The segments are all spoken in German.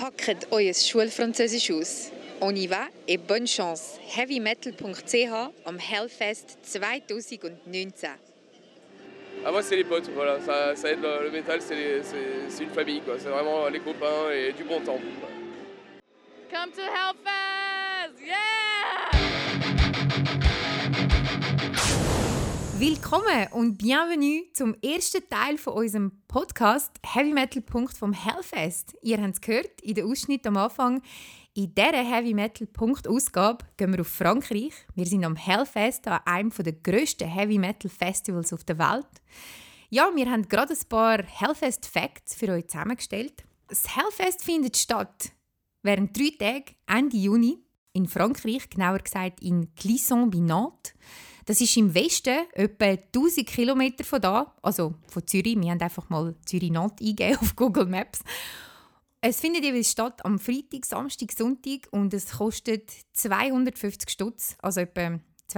Packt euer Schulfranzösisch aus. On y va et bonne chance. Heavymetal.ch am Hellfest 2019. Ah, moi, c'est les potes, voilà. Ça aide le métal, c'est une famille, quoi. C'est vraiment les copains et du bon temps. Quoi. Come to Hellfest! Yeah! Willkommen und bienvenue zum ersten Teil von unserem Podcast Heavy Metal. Vom Hellfest. Ihr habt es gehört in den Ausschnitt am Anfang. In dieser Heavy Metal Ausgabe gehen wir auf Frankreich. Wir sind am Hellfest, an einem der grössten Heavy Metal Festivals auf der Welt. Ja, wir haben gerade ein paar Hellfest Facts für euch zusammengestellt. Das Hellfest findet statt während 3 Tagen Ende Juni in Frankreich, genauer gesagt in Clisson bei Nantes. Das ist im Westen, etwa 1000 Kilometer von da, also von Zürich. Wir haben einfach mal Zürich-Nantes eingegeben auf Google Maps. Es findet jeweils statt am Freitag, Samstag, Sonntag und es kostet 250 Stutz, also etwa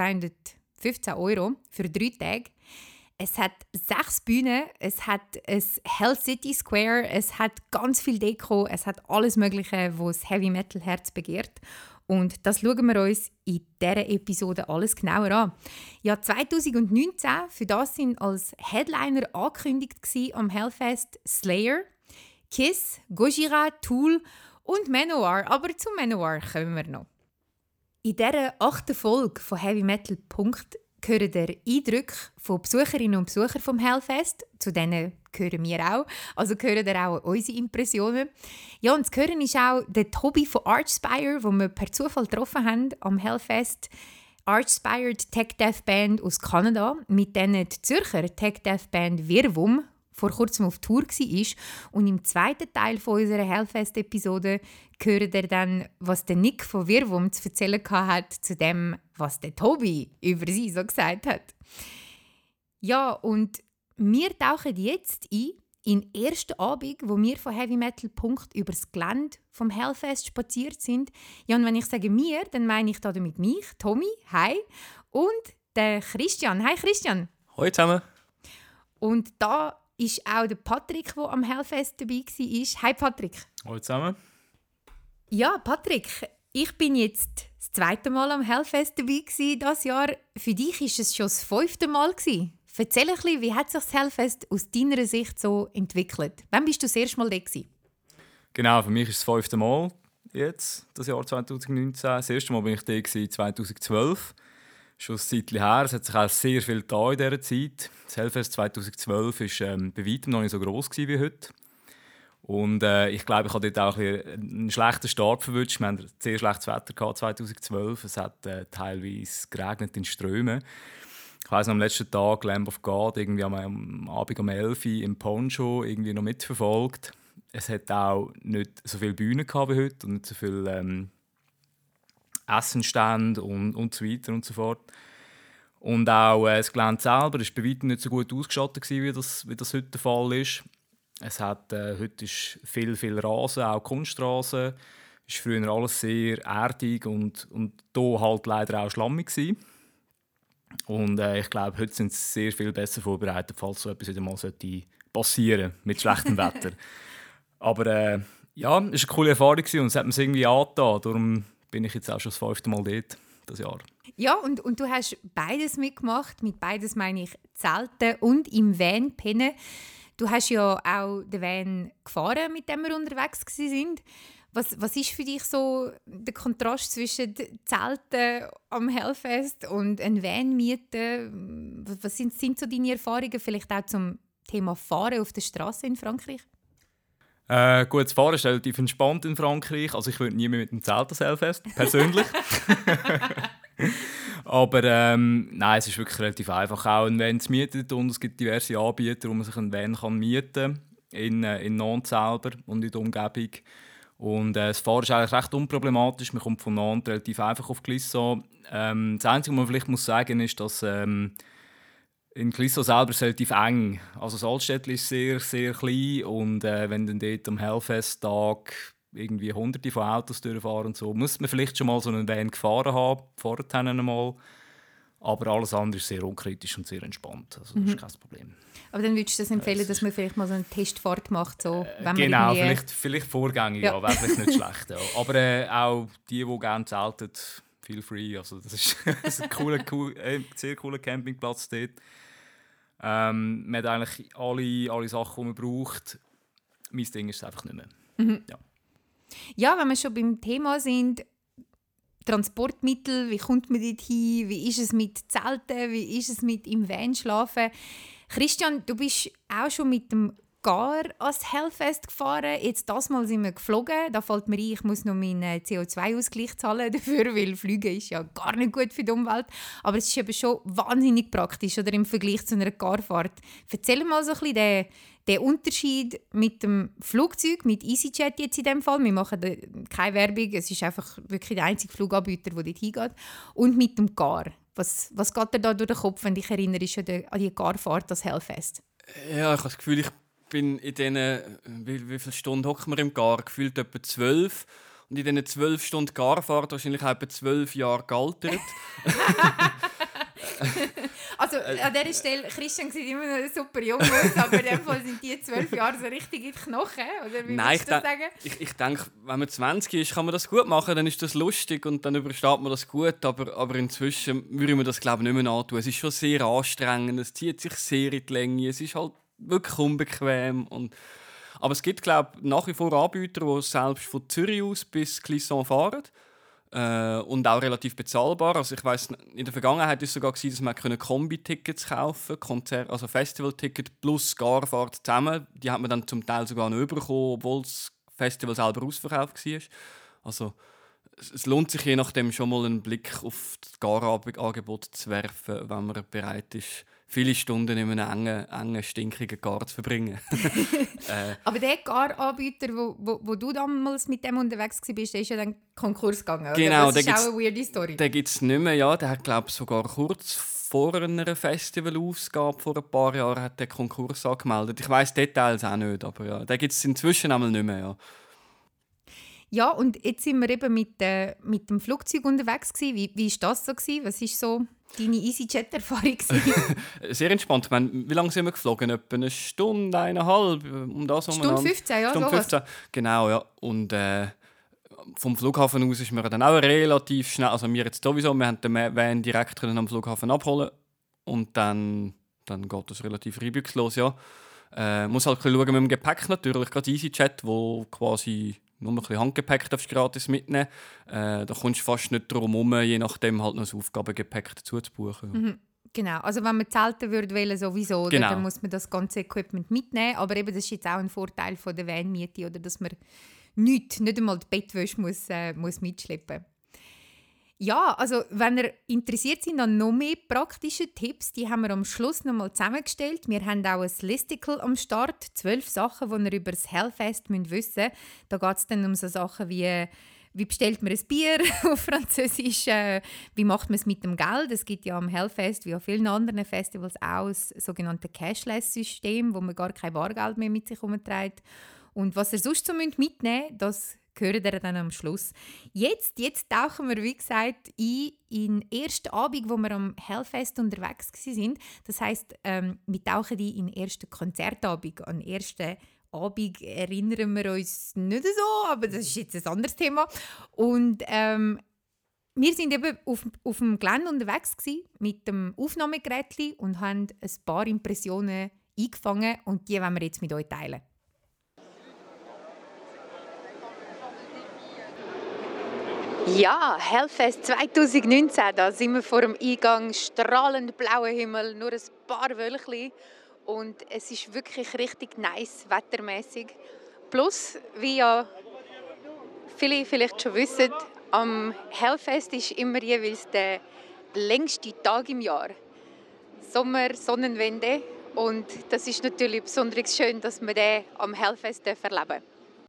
215 € für 3 Tage. Es hat 6 Bühnen, es hat ein Hell City Square, es hat ganz viel Deko, es hat alles Mögliche, was das Heavy Metal Herz begehrt. Und das schauen wir uns in dieser Episode alles genauer an. Ja, 2019, für das sind als Headliner angekündigt am Hellfest Slayer, Kiss, Gojira, Tool und Manowar. Aber zu Manowar kommen wir noch. In dieser 8. Folge von Heavy Metal hören ihr Eindrücke von Besucherinnen und Besuchern vom Hellfest. Zu denen gehören wir auch. Also hören ihr auch unsere Impressionen. Ja, und zu hören ist auch der Tobi von Archspire, den wir per Zufall getroffen haben am Hellfest. Archspire, die Tech Death Band aus Kanada, mit denen die Zürcher Tech Death Band Virvum vor kurzem auf Tour war. Und im zweiten Teil von unserer Hellfest-Episode hört ihr dann, was der Nick von Virvum zu erzählen hat zu dem, was der Tobi über sie so gesagt hat. Ja, und wir tauchen jetzt ein in den ersten Abend, wo wir von Heavy Metal über das Gelände vom Hellfest spaziert sind. Ja, und wenn ich sage «wir», dann meine ich damit mich, Tommy, hi, und den Christian. Hi Christian. Hallo zusammen. Und da ist auch der Patrick, der am Hellfest dabei war. Hi Patrick. Hallo zusammen. Ja, Patrick, ich bin jetzt das 2. Mal am Hellfest dabei dieses Jahr. Für dich war es schon das 5. Mal. Erzähl ein bisschen, wie hat sich das Hellfest aus deiner Sicht so entwickelt? Wann bist du das erste Mal da gewesen? Genau, für mich ist es das 5. Mal jetzt, das Jahr 2019. Das erste Mal war ich da 2012. Schon ein Zeitchen her. Es hat sich auch sehr viel getan in dieser Zeit. Das Hellfest 2012 war bei weitem noch nicht so gross wie heute. Und ich glaube, ich habe dort auch einen schlechten Start verwünscht. Wir hatten sehr schlechtes Wetter 2012. Es hat teilweise geregnet in Strömen. Ich weiss noch, am letzten Tag Lamb of God, irgendwie am Abend um 11 Uhr im Poncho irgendwie noch mitverfolgt. Es hat auch nicht so viele Bühnen wie heute und nicht so viele Essenstände und so weiter und so fort. Und auch das Gelände selber war bei weitem nicht so gut ausgestattet, wie das heute der Fall ist. Es hat, heute ist viel Rasen, auch Kunstrasen. Es war früher alles sehr erdig und hier halt leider auch schlammig gewesen. Und ich glaube, heute sind sie sehr viel besser vorbereitet, falls so etwas wieder mal passieren sollte mit schlechtem Wetter. Aber ja, es war eine coole Erfahrung und es hat mir irgendwie angetan. Darum bin ich jetzt auch schon das 5. Mal dort, das Jahr. Ja, und du hast beides mitgemacht. Mit beides meine ich Zelten und im Van pennen. Du hast ja auch den Van gefahren, mit dem wir unterwegs waren. Was ist für dich so der Kontrast zwischen Zelten am Hellfest und ein Van mieten? Was sind so deine Erfahrungen vielleicht auch zum Thema Fahren auf der Straße in Frankreich? Gut, das Fahren ist relativ entspannt in Frankreich. Also ich würde nie mehr mit dem Zelt das Hellfest, persönlich. Aber nein, es ist wirklich relativ einfach, auch einen Van zu mieten. Und es gibt diverse Anbieter, wo man sich einen Van mieten kann, in Nantes selber und in der Umgebung. Und das Fahren ist eigentlich recht unproblematisch. Man kommt von Nantes relativ einfach auf Clisson. Das Einzige, was man vielleicht sagen muss, ist, dass in Clisson selber ist es relativ eng. Also das Altstädtchen ist sehr, sehr klein. Und wenn dann dort am Hellfest-Tag irgendwie Hunderte von Autos durchfahren und so, muss man vielleicht schon mal so einen Van gefahren haben, vorher einmal. Aber alles andere ist sehr unkritisch und sehr entspannt. Also das ist kein Problem. Aber dann würdest du das empfehlen, dass man vielleicht mal so eine Testfahrt macht? So, wenn Genau, man vielleicht vorgängig, ja, wäre vielleicht nicht schlecht. Ja. Aber auch die gerne zelten, feel free. Also das ist ein sehr cooler Campingplatz dort. Man hat eigentlich alle Sachen, die man braucht. Mein Ding ist es einfach nicht mehr. Ja, wenn wir schon beim Thema sind, Transportmittel, wie kommt man dort hin? Wie ist es mit Zelten? Wie ist es mit im Van schlafen? Christian, du bist auch schon mit dem Gar ans Hellfest gefahren. Jetzt das Mal sind wir geflogen. Da fällt mir ein, ich muss noch meinen CO2-Ausgleich zahlen dafür, weil Fliegen ist ja gar nicht gut für die Umwelt. Aber es ist eben schon wahnsinnig praktisch oder im Vergleich zu einer Garfahrt. Erzähl mal so ein bisschen den Unterschied mit dem Flugzeug, mit EasyJet jetzt in dem Fall. Wir machen keine Werbung, es ist einfach wirklich der einzige Fluganbieter, der dort hingeht. Und mit dem Gar. Was geht dir da durch den Kopf, wenn du dich erinnerst an die Garfahrt, das Hellfest? Ja, ich habe das Gefühl, ich bin in diesen, wie viele Stunden hocken wir im Gar? Gefühlt etwa 12. Und in diesen 12 Stunden Garfahrt wahrscheinlich etwa 12 Jahre gealtert. Also an dieser Stelle, Christian sieht immer noch super jung aus, aber in dem Fall sind die 12 Jahre so richtig in die Knochen, oder wie würdest du das sagen? Ich denke, wenn man 20 ist, kann man das gut machen, dann ist das lustig und dann übersteht man das gut, aber inzwischen würde man das, glaube ich, nicht mehr antun. Es ist schon sehr anstrengend, es zieht sich sehr in die Länge, es ist halt wirklich unbequem. Aber es gibt, glaube ich, nach wie vor Anbieter, die selbst von Zürich aus bis Clisson fahren. Und auch relativ bezahlbar. Also ich weiss, in der Vergangenheit war es sogar, dass man Kombi-Tickets kaufen konnte, also Festival-Ticket plus Garfahrt zusammen. Die hat man dann zum Teil sogar noch bekommen, obwohl das Festival selber ausverkauft war. Also es lohnt sich je nachdem schon mal einen Blick auf das Gar-Angebot zu werfen, wenn man bereit ist, viele Stunden in einem engen stinkigen Gar zu verbringen. Aber der Gar-Anbieter, wo du damals mit dem unterwegs warst, der ist ja dann Konkurs gegangen. Oder? Genau, das ist auch eine weirde Story. Den gibt es nicht mehr. Ja, der hat, glaube ich, sogar kurz vor einer Festivalausgabe vor ein paar Jahren hat den Konkurs angemeldet. Ich weiss Details auch nicht, aber ja, den gibt es inzwischen einmal nicht mehr. Ja. Ja, und jetzt sind wir eben mit dem Flugzeug unterwegs gewesen. Wie war das so gewesen? Was war so deine EasyJet-Erfahrung? Sehr entspannt. Ich meine, wie lange sind wir geflogen? Etwa eine Stunde, 1,5. Um das Stunde 15, ja. Stunde 15, genau, ja. Und vom Flughafen aus ist man dann auch relativ schnell, also wir jetzt sowieso, wir haben den Van direkt am Flughafen abholen und dann geht das relativ reibungslos, ja. Muss halt schauen mit dem Gepäck natürlich, gerade EasyJet, wo quasi nur ein bisschen Handgepäck gratis mitnehmen. Da kommst du fast nicht drum herum, je nachdem halt noch das Aufgabengepäck dazu zu buchen. Mhm. Genau, also wenn man zelten würde sowieso, genau. Dann muss man das ganze Equipment mitnehmen. Aber eben, das ist jetzt auch ein Vorteil von der Van-Miete, oder, dass man nicht einmal die Bettwäsche muss mitschleppen. Ja, also wenn ihr interessiert seid an noch mehr praktischen Tipps, die haben wir am Schluss noch mal zusammengestellt. Wir haben auch ein Listicle am Start, 12 Sachen, die ihr über das Hellfest wissen müsst. Da geht es dann um so Sachen wie bestellt man ein Bier auf Französisch, wie macht man es mit dem Geld. Es gibt ja am Hellfest wie an vielen anderen Festivals auch das sogenannte Cashless-System, wo man gar kein Bargeld mehr mit sich herumträgt. Und was ihr sonst so mitnehmen müsst, das hören wir dann am Schluss. Jetzt tauchen wir, wie gesagt, in den ersten Abend, wo wir am Hellfest unterwegs waren. Das heisst, wir tauchen in den ersten Konzertabend. An den ersten Abend erinnern wir uns nicht so, aber das ist jetzt ein anderes Thema. Und wir waren eben auf dem Gelände unterwegs mit dem Aufnahmegerät und haben ein paar Impressionen eingefangen und die wollen wir jetzt mit euch teilen. Ja, Hellfest 2019, da sind wir vor dem Eingang, strahlend blauer Himmel, nur ein paar Wölkchen und es ist wirklich richtig nice, wettermäßig. Plus, wie ja viele vielleicht schon wissen, am Hellfest ist immer jeweils der längste Tag im Jahr. Sommer, Sonnenwende und das ist natürlich besonders schön, dass wir den am Hellfest erleben dürfen.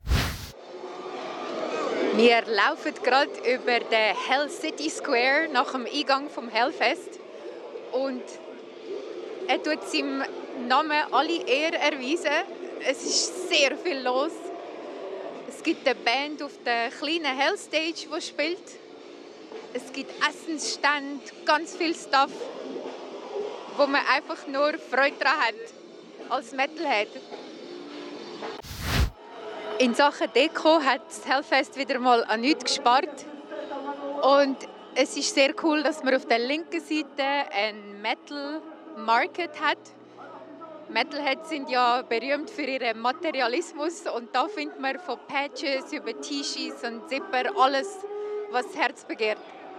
Wir laufen gerade über den Hell City Square nach dem Eingang vom Hellfest und er tut seinem Namen alle Ehre erweisen. Es ist sehr viel los. Es gibt eine Band auf der kleinen Hellstage, die spielt Es gibt Essensstände, ganz viel Stuff, wo man einfach nur Freude daran hat, als Metalhead. In Sachen Deko hat das Hellfest wieder mal an nichts gespart. Und es ist sehr cool, dass man auf der linken Seite einen Metal Market hat. Metalheads sind ja berühmt für ihren Materialismus und da findet man von Patches über T-Shirts und Zipper alles, was das Herz begehrt.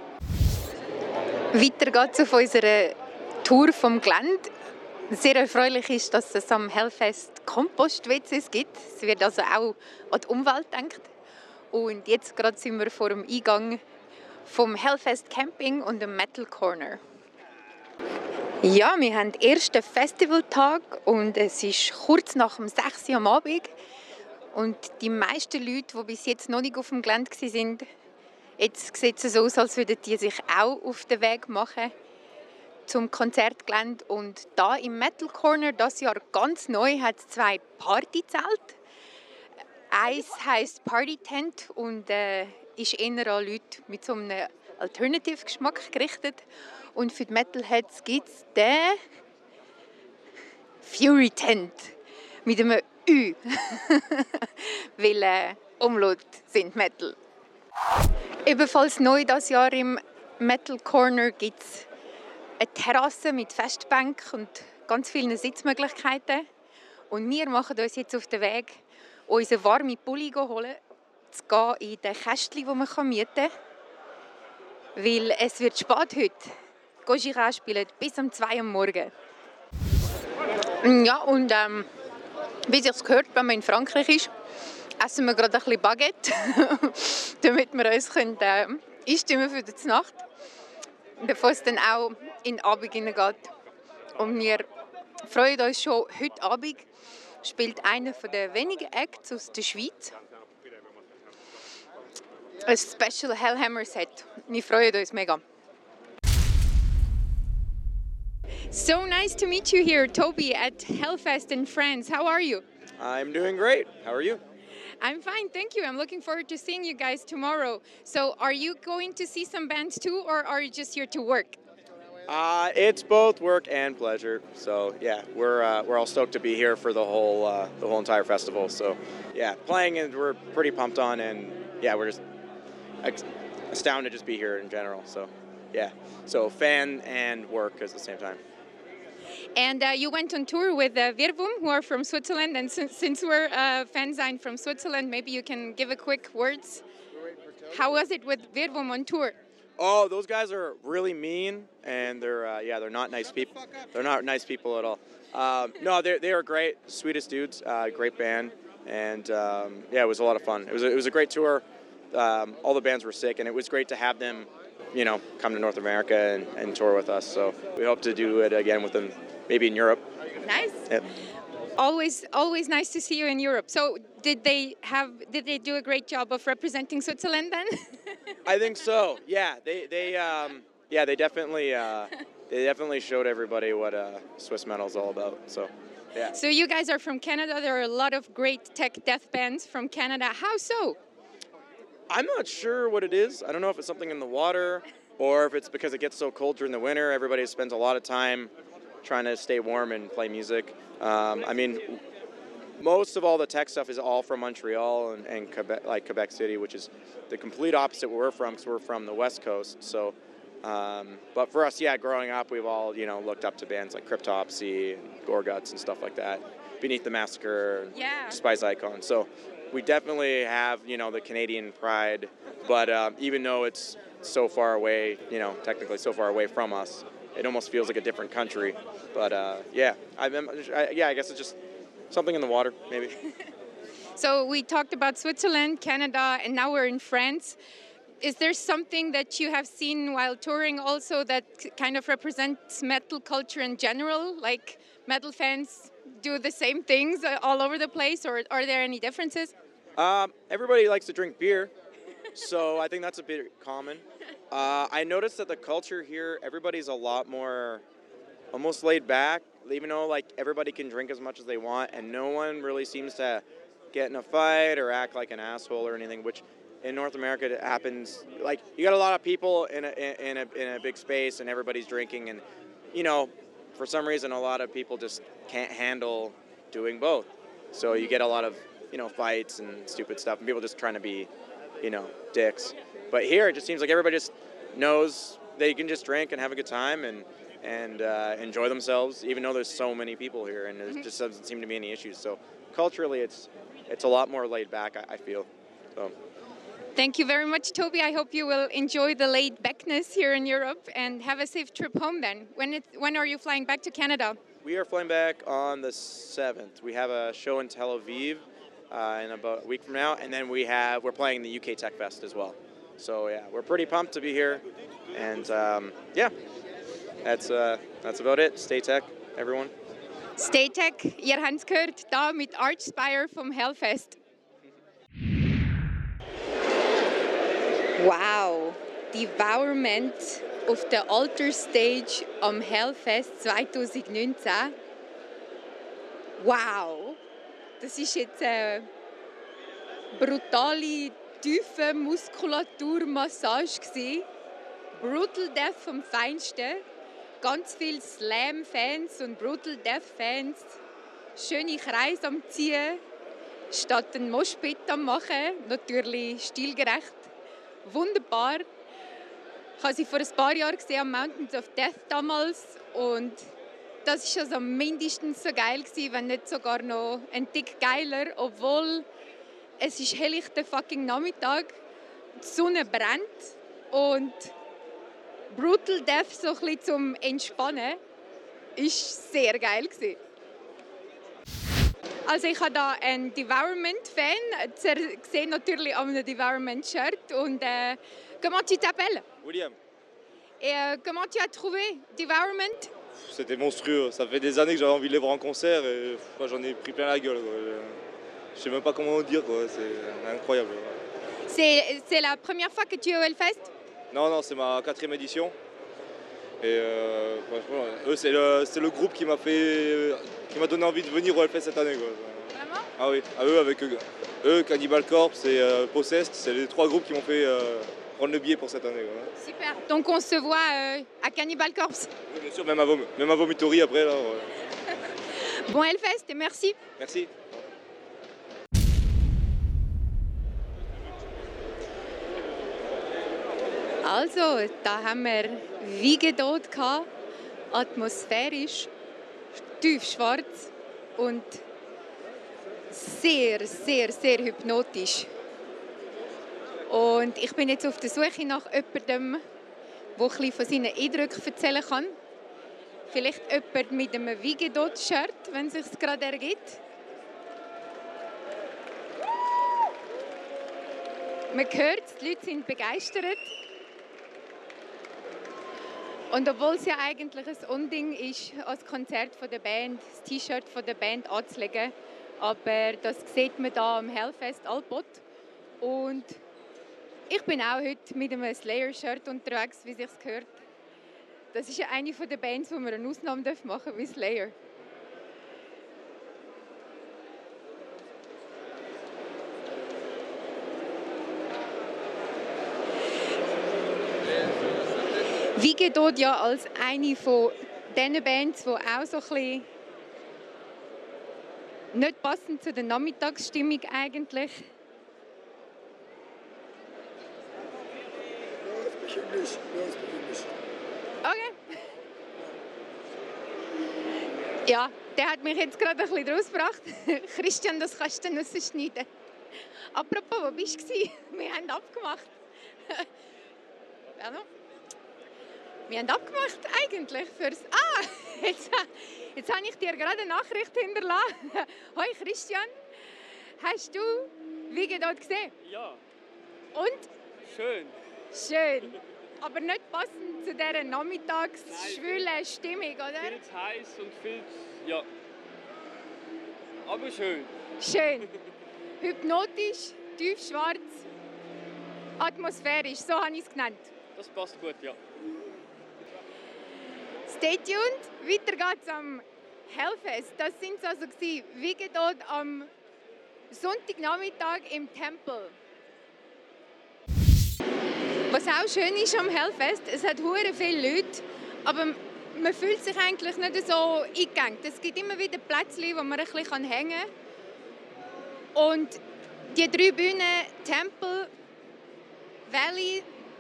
Weiter geht es auf unserer Tour vom Gelände. Sehr erfreulich ist, dass es am Hellfest Kompost-WCs gibt. Es wird also auch an die Umwelt gedacht. Und jetzt gerade sind wir vor dem Eingang vom Hellfest Camping und dem Metal Corner. Ja, wir haben den ersten Festivaltag und es ist kurz nach dem 6 Uhr am Abend. Und die meisten Leute, die bis jetzt noch nicht auf dem Gelände waren, jetzt sieht es so aus, als würden die sich auch auf den Weg machen zum Konzertgelände. Und da im Metal Corner, das Jahr ganz neu, hat es 2 Partyzelte. Eins heisst Party Tent und ist eher an Leute mit so einem Alternative-Geschmack gerichtet. Und für die Metalheads gibt es den Fury Tent mit einem Ü. Weil Umlaut sind Metal. Ebenfalls neu dieses Jahr im Metal Corner gibt es eine Terrasse mit Festbänken und ganz vielen Sitzmöglichkeiten. Und wir machen uns jetzt auf den Weg, unseren warmen Pulli holen, zu gehen in den Kästchen, die man mieten kann. Weil es wird spät heute. Gojira spielt bis um 2 Uhr morgens. Ja, und wie sich gehört, wenn man in Frankreich ist, essen wir gerade ein bisschen Baguette, damit wir uns einstimmen für die Nacht. Bevor es dann auch in den Abend hineingeht. Und wir freuen uns schon, heute Abend spielt einer der wenigen Acts aus der Schweiz ein Special Hellhammer Set. Wir freuen uns mega. So nice to meet you here, Toby, at Hellfest in France. How are you? I'm doing great. How are you? I'm fine, thank you. I'm looking forward to seeing you guys tomorrow. So are you going to see some bands too, or are you just here to work? It's both work and pleasure. So yeah, we're all stoked to be here for the whole entire festival. So yeah, playing and we're pretty pumped on, and yeah, we're just astounded to just be here in general. So yeah, so fan and work at the same time. And you went on tour with Virvum, who are from Switzerland. And since we're fans from Switzerland, maybe you can give a quick words. How was it with Virvum on tour? Oh, those guys are really mean, and they're not nice people. They're not nice people at all. No, they are great, sweetest dudes, great band, and yeah, it was a lot of fun. It was a great tour. All the bands were sick, and it was great to have them, come to North America and tour with us. So we hope to do it again with them, maybe in Europe. Nice. Yep. Always nice to see you in Europe. So did they do a great job of representing Switzerland then? I think so. Yeah, they definitely showed everybody what Swiss metal is all about. So yeah. So you guys are from Canada. There are a lot of great tech death bands from Canada. How so? I'm not sure what it is. I don't know if it's something in the water or if it's because it gets so cold during the winter. Everybody spends a lot of time trying to stay warm and play music. I mean, most of all the tech stuff is all from Montreal and Quebec, like Quebec City, which is the complete opposite where we're from, because we're from the West Coast. So, but for us, yeah, growing up, we've all looked up to bands like Cryptopsy, and Gorguts, and stuff like that. Beneath the Massacre, yeah. Spice Icon. So we definitely have the Canadian pride, but even though it's so far away, technically so far away from us, it almost feels like a different country. But yeah, I guess it's just something in the water, maybe. So we talked about Switzerland, Canada, and now we're in France. Is there something that you have seen while touring also that kind of represents metal culture in general? Like metal fans do the same things all over the place, or are there any differences? Everybody likes to drink beer, so I think that's a bit common. I noticed that the culture here, everybody's a lot more almost laid back, even though like everybody can drink as much as they want, and no one really seems to get in a fight or act like an asshole or anything, which in North America it happens like you got a lot of people in a big space and everybody's drinking, and you know, for some reason a lot of people just can't handle doing both. So you get a lot of, you know, fights and stupid stuff and people just trying to be, you know, dicks. But here it just seems like everybody just knows they can just drink and have a good time and enjoy themselves, even though there's so many people here, and there just doesn't seem to be any issues. So culturally, it's a lot more laid back, I feel. So. Thank you very much, Toby. I hope you will enjoy the laid backness here in Europe and have a safe trip home then. When are you flying back to Canada? We are flying back on the 7th. We have a show in Tel Aviv in about a week from now, and then we're playing the UK Tech Fest as well. So yeah, we're pretty pumped to be here, and yeah, that's about it. Stay tech, everyone. Stay tech. Ihr habt es gehört, da mit Archspire vom Hellfest. Wow, Devourment auf der Alter Stage am Hellfest 2019. Wow, das ist jetzt eine brutale, tiefe Muskulaturmassage gewesen. Brutal Death vom Feinsten. Ganz viele Slam-Fans und Brutal Death-Fans. Schöne Kreise am Ziehen, statt einen Moshpit am Machen. Natürlich stilgerecht. Wunderbar. Ich habe sie vor ein paar Jahren gesehen am Mountains of Death damals. Und das war also mindestens so geil gewesen, wenn nicht sogar noch ein Tick geiler. Obwohl es ist helllichter fucking Nachmittag. Die Sonne brennt. Und Brutal Death so ein bisschen zum Entspannen ist sehr geil gewesen. Also ich habe da einen Devourment-Fan, gesehen natürlich an einem Devourment-Shirt. Und comment tu t'appelles? William. Et comment tu as trouvé Devourment? C'était monstrueux. Ça fait des années que j'avais envie de les voir en concert et j'en ai pris plein la gueule. Quoi. Je sais même pas comment dire, quoi. C'est incroyable. C'est la première fois que tu es au Hellfest? Non, c'est ma 4e édition. Et franchement, eux, c'est le groupe qui m'a donné envie de venir au Hellfest cette année. Quoi. Vraiment? Ah oui, eux, avec eux, Cannibal Corpse et Possessed, c'est les 3 groupes qui m'ont fait prendre le billet pour cette année. Quoi. Super. Donc on se voit à Cannibal Corpse? Oui, bien sûr, même à Vomitory après. Là, ouais. Bon Hellfest et merci. Merci. Also, da haben wir Wiegedot gehabt, atmosphärisch, tiefschwarz und sehr, sehr, sehr hypnotisch. Und ich bin jetzt auf der Suche nach jemandem, der ein bisschen von seinen Eindrücken erzählen kann. Vielleicht jemand mit einem Wiegedot-Shirt, wenn es sich gerade ergibt. Man hört, die Leute sind begeistert. Und obwohl es ja eigentlich ein Unding ist, als Konzert von der Band, das T-Shirt von der Band anzulegen, aber das sieht man hier am Hellfest Alpot. Und ich bin auch heute mit einem Slayer-Shirt unterwegs, wie es sich gehört. Das ist ja eine der Bands, wo wir eine Ausnahme machen dürfen, wie Slayer. Wiegedot ja als eine von diesen Bands, die auch so ein bisschen nicht passend zu der Nachmittagsstimmung eigentlich. Okay. Ja, der hat mich jetzt gerade ein bisschen rausgebracht. Christian, das kannst du dann rausschneiden. Apropos, wo bist du? Wir haben abgemacht. Wir haben abgemacht eigentlich fürs... jetzt habe ich dir gerade eine Nachricht hinterlassen. Hoi Christian, hast du Wiegedot gesehen? Ja. Und? Schön. Schön. Aber nicht passend zu dieser nachmittagsschwülen Stimmung, oder? Viel zu heiß und viel zu... Ja. Aber schön. Schön. Hypnotisch, tiefschwarz, atmosphärisch, so habe ich es genannt. Das passt gut, ja. Stay tuned, weiter geht's am Hellfest. Das sind also Wiegedot am Sonntagnachmittag im Tempel. Was auch schön ist am Hellfest, es hat hure viele Leute, aber man fühlt sich eigentlich nicht so eingegangen. Es gibt immer wieder Plätze, wo man ein bisschen hängen kann. Und die 3 Bühnen, Temple, Valley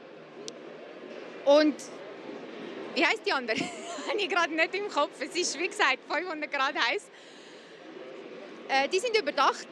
und wie heisst die andere? Habe ich gerade nicht im Kopf. Es ist, wie gesagt, 500 Grad heiß. Die sind überdacht.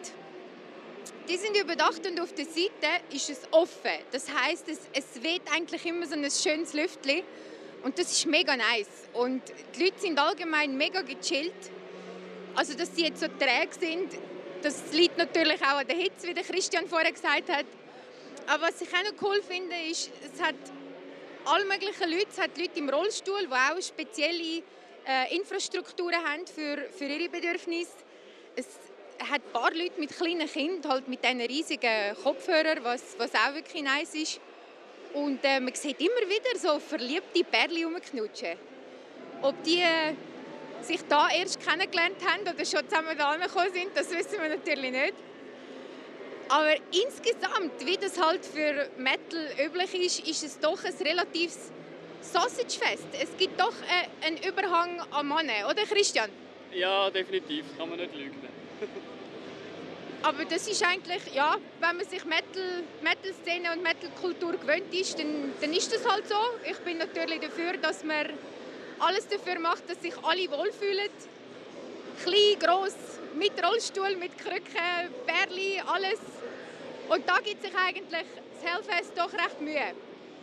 Und auf der Seite ist es offen. Das heisst, es weht eigentlich immer so ein schönes Lüftchen. Und das ist mega nice. Und die Leute sind allgemein mega gechillt. Also, dass sie jetzt so träge sind, das liegt natürlich auch an der Hitze, wie der Christian vorher gesagt hat. Aber was ich auch noch cool finde, ist, es hat alle möglichen Leute. Es hat Leute im Rollstuhl, die auch spezielle Infrastrukturen haben für ihre Bedürfnisse. Es hat ein paar Leute mit kleinen Kindern, halt mit diesen riesigen Kopfhörern, was auch wirklich nice ist. Und man sieht immer wieder so verliebte Pärchen rumknutschen. Ob die sich da erst kennengelernt haben oder schon zusammen da angekommen sind, das wissen wir natürlich nicht. Aber insgesamt, wie das halt für Metal üblich ist es doch ein relatives Sausagefest. Es gibt doch einen Überhang an Männern, oder Christian? Ja, definitiv. Kann man nicht lügen. Aber das ist eigentlich, ja, wenn man sich Metal-Szene und Metal-Kultur gewöhnt ist, dann ist das halt so. Ich bin natürlich dafür, dass man alles dafür macht, dass sich alle wohlfühlen. Klein, gross, mit Rollstuhl, mit Krücken, Bärli, alles. Und da gibt sich eigentlich das Hellfest doch recht Mühe.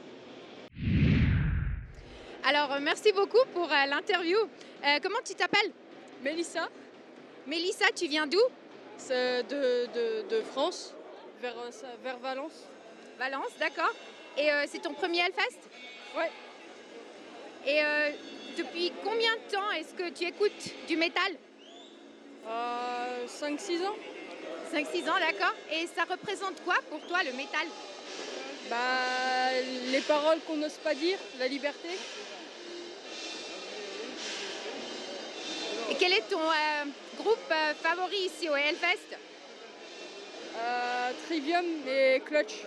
Alors, merci beaucoup pour l'interview. Comment tu t'appelles? Mélissa, Mélissa, tu viens d'où? c'est de France, vers Valence. Valence, d'accord. Et c'est ton premier Hellfest? Ouais. Et depuis combien de temps est-ce que tu écoutes du métal? 5-6 ans. 5-6 ans, d'accord. Et ça représente quoi pour toi, le métal? Bah, les paroles qu'on n'ose pas dire, la liberté. Et quel est ton groupe favori ici au Hellfest? Trivium et Clutch.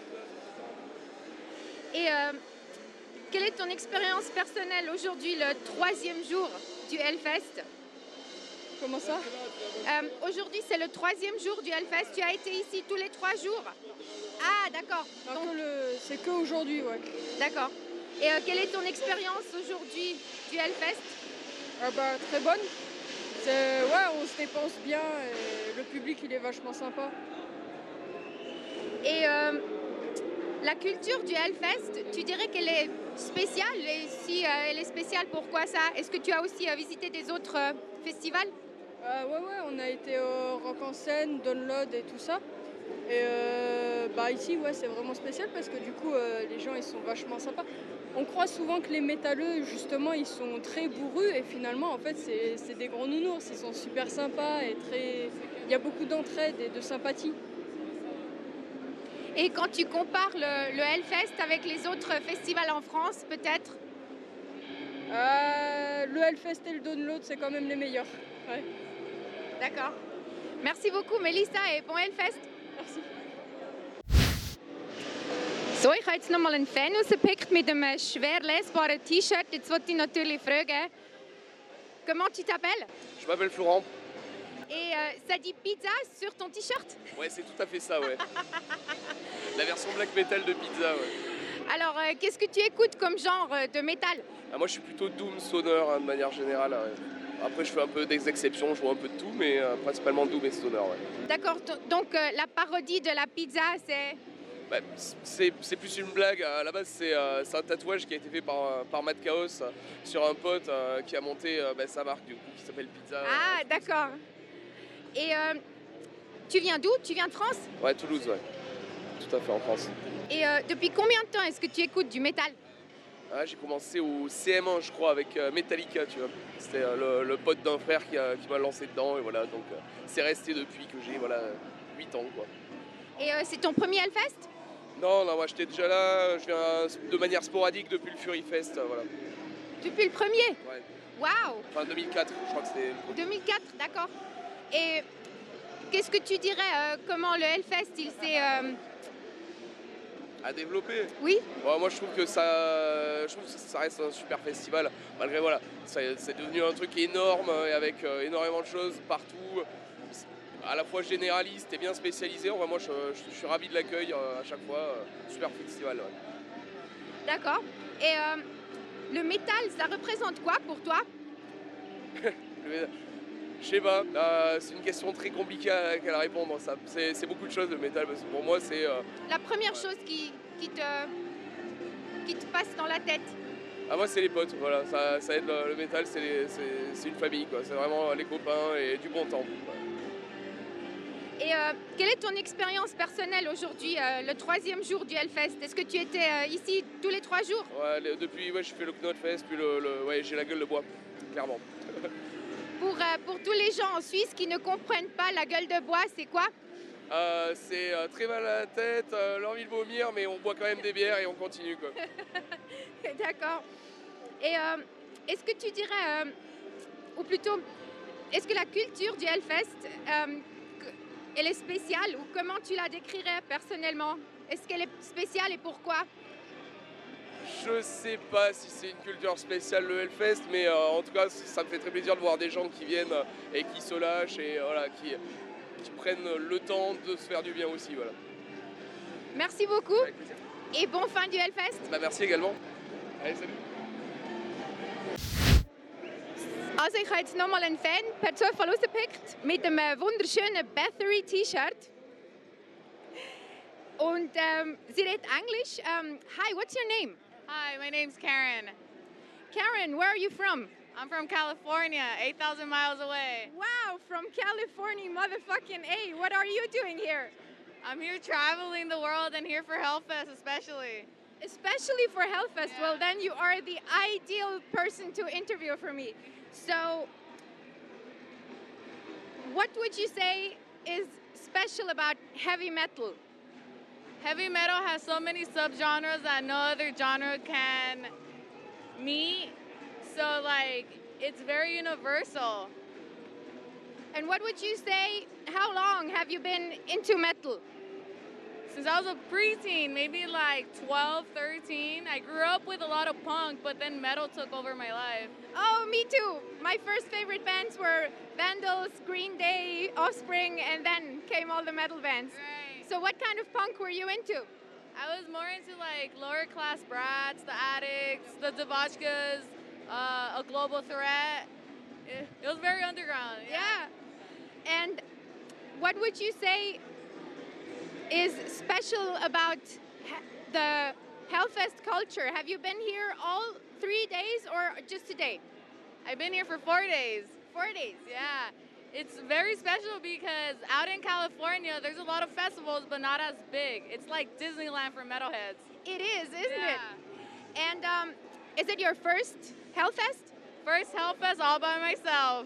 Et quelle est ton expérience personnelle aujourd'hui, le 3e jour du Hellfest? Comment ça? Aujourd'hui, c'est le 3e jour du Hellfest. Tu as été ici tous les 3 jours? Ah, d'accord. Donc, C'est que aujourd'hui, ouais. d'accord. Et quelle est ton expérience aujourd'hui du Hellfest? Bah, très bonne. Ouais, on se dépense bien et le public, il est vachement sympa. Et la culture du Hellfest, tu dirais qu'elle est spéciale? Et si elle est spéciale, pourquoi ça? Est-ce que tu as aussi visité des autres festivals? Ouais, on a été au Rock en Scène, Download et tout ça. Et bah ici, ouais, c'est vraiment spécial parce que du coup, les gens, ils sont vachement sympas. On croit souvent que les métalleux, justement, ils sont très bourrus et finalement, en fait, c'est des gros nounours. Ils sont super sympas et très... Il y a beaucoup d'entraide et de sympathie. Et quand tu compares le Hellfest avec les autres festivals en France, peut-être? Le Hellfest et le Download, c'est quand même les meilleurs. Ouais. D'accord. Merci beaucoup, Melissa, et bon Hellfest. Merci. So, ich habe jetzt noch mal einen Fan rausgepickt mit einem schwer lesbaren T-Shirt. Jetzt wollte ich natürlich fragen, comment tu t'appelles? Je m'appelle Florent. Et ça dit pizza sur ton T-shirt? Ouais, c'est tout à fait ça, ouais. La version black metal de Pizza, ouais. Alors, qu'est-ce que tu écoutes comme genre de métal? Moi, je suis plutôt doom stoner, hein, de manière générale. Ouais. Après, je fais un peu des exceptions, je joue un peu de tout, mais principalement doom et stoner, ouais. D'accord, donc la parodie de la pizza, c'est... Bah, c'est plus une blague. À la base, c'est un tatouage qui a été fait par Matt Chaos sur un pote qui a monté sa marque, du coup, qui s'appelle Pizza. Ah, d'accord. Et tu viens d'où? Tu viens de France? Ouais, Toulouse, ouais. Tout à fait, en France. Et depuis combien de temps est-ce que tu écoutes du métal? J'ai commencé au CM1, je crois, avec Metallica, tu vois. C'était le pote d'un frère qui m'a lancé dedans, et voilà. Donc, c'est resté depuis que j'ai 8 ans, quoi. Et c'est ton premier Hellfest? Non, moi, j'étais déjà là. Je viens de manière sporadique depuis le Fury Fest, voilà. Depuis le premier? Ouais. Waouh! Enfin, 2004, je crois que c'était... 2004, d'accord. Et qu'est-ce que tu dirais, comment le Hellfest, il s'est À développer. Oui. Ouais, moi je trouve que ça reste un super festival. Malgré voilà, c'est devenu un truc énorme et avec énormément de choses partout. À la fois généraliste et bien spécialisé. En vrai, moi je suis ravi de l'accueil à chaque fois. Super festival. Ouais. D'accord. Et le métal, ça représente quoi pour toi? Je sais pas, c'est une question très compliquée à répondre. C'est beaucoup de choses le métal parce que pour moi c'est. La première chose qui te passe dans la tête? Ah, moi c'est les potes, voilà, ça aide le métal, c'est une famille quoi, c'est vraiment les copains et du bon temps. Et quelle est ton expérience personnelle aujourd'hui, le 3e jour du Hellfest? Est-ce que tu étais ici tous les 3 jours? Ouais, depuis je fais le Knotfest, puis ouais, j'ai la gueule de bois, clairement. Pour tous les gens en Suisse qui ne comprennent pas la gueule de bois, c'est quoi? C'est très mal à la tête, l'envie de vomir, mais on boit quand même des bières et on continue quoi. D'accord. Et est-ce que tu dirais, ou plutôt, est-ce que la culture du Hellfest, elle est spéciale ou comment tu la décrirais personnellement? Est-ce qu'elle est spéciale et pourquoi? Je sais pas si c'est une culture spéciale le Hellfest, mais en tout cas ça me fait très plaisir de voir des gens qui viennent et qui se lâchent et voilà, qui prennent le temps de se faire du bien aussi. Voilà. Merci beaucoup et bon fin du Hellfest. Bah, merci également. Allez, salut. Also ich habe jetzt nochmal einen Fan per Zufall rausgepickt mit einem wunderschönen Bathory-T-Shirt. Und sie redet Englisch. Hi, what's your name? Hi, my name's Karen. Karen, where are you from? I'm from California, 8,000 miles away. Wow, from California, motherfucking A. What are you doing here? I'm here traveling the world and here for Hellfest especially. Especially for Hellfest. Yeah. Well, then you are the ideal person to interview for me. So, what would you say is special about heavy metal? Heavy metal has so many subgenres that no other genre can meet. So, like, it's very universal. And what would you say, how long have you been into metal? Since I was a preteen, maybe like 12, 13. I grew up with a lot of punk, but then metal took over my life. Oh, me too. My first favorite bands were Vandals, Green Day, Offspring, and then came all the metal bands. Right. So what kind of punk were you into? I was more into like lower class brats, the Addicts, the Devotchkas, a Global Threat. It was very underground. Yeah. And what would you say is special about the Hellfest culture? Have you been here all 3 days or just today? I've been here for 4 days. 4 days. Yeah. It's very special because out in California, there's a lot of festivals, but not as big. It's like Disneyland for metalheads. It is, isn't it? Yeah. And is it your first Hellfest? First Hellfest all by myself.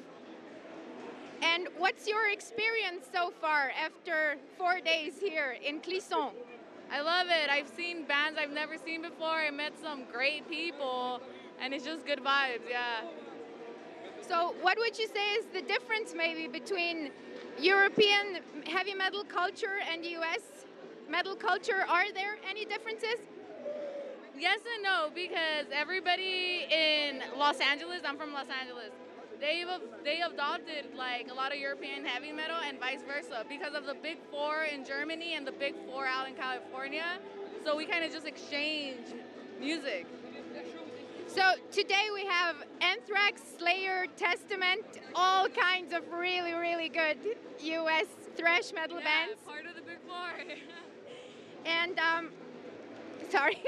And what's your experience so far after 4 days here in Clisson? I love it. I've seen bands I've never seen before. I met some great people, and it's just good vibes, yeah. So what would you say is the difference maybe between European heavy metal culture and US metal culture? Are there any differences? Yes and no, because everybody in Los Angeles, I'm from Los Angeles, they adopted like a lot of European heavy metal and vice versa because of the Big Four in Germany and the Big Four out in California. So we kind of just exchange music. So today we have Anthrax, Slayer, Testament, all kinds of really, really good US thrash metal bands. Part of the Big Four. And sorry.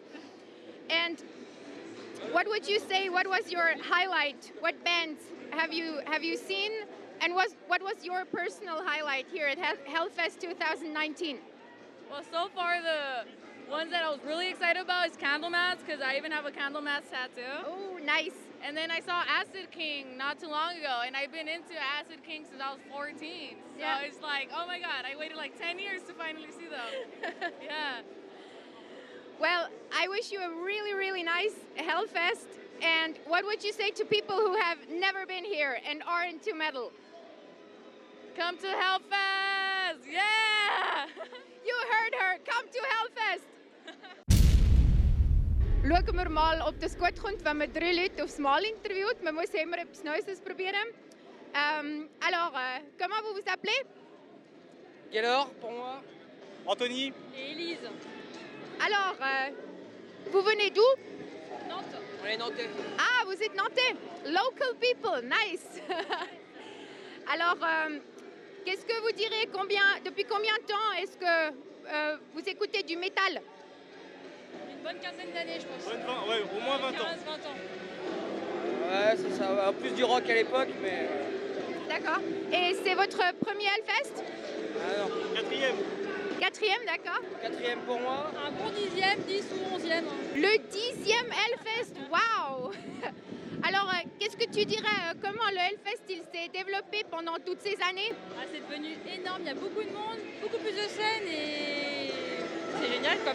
And what would you say? What was your highlight? What bands have you seen? And what was your personal highlight here at Hellfest 2019? Well, so far the ones that I was really excited about is Candlemass, because I even have a Candlemass tattoo. Oh, nice. And then I saw Acid King not too long ago, and I've been into Acid King since I was 14. So Yeah. it's like, oh my God, I waited like 10 years to finally see them. Yeah. Well, I wish you a really, really nice Hellfest. And what would you say to people who have never been here and are into metal? Come to Hellfest! Yeah! You heard her. Come to Hellfest. schauen wir mal, ob das gut kommt, wenn man 3 Leute aufs Mal interviewt. Man muss ja immer etwas Neues ausprobieren. Alors, comment vous vous appelez? Gaylor pour moi. Anthony. Et Élise. Alors, vous venez d'où? Nantes. On est nantais. Ah, vous êtes nantais. Local people, nice. Alors, qu'est-ce que vous direz, depuis combien de temps est-ce que vous écoutez du métal? Une bonne quinzaine d'années, je pense. Ouais, au moins 20 ans. 15-20 ans. Ouais, c'est ça. Plus du rock à l'époque, mais. D'accord. Et c'est votre premier Hellfest? Ah non. 4e, d'accord. 4e pour moi. Un bon 10e, 10 ou 11e. Le 10e Hellfest, waouh. Alors, qu'est-ce que tu dirais, comment le Hellfest il s'est développé pendant toutes ces années? Ah, c'est devenu énorme, il y a beaucoup de monde, beaucoup plus de scènes et c'est génial quoi.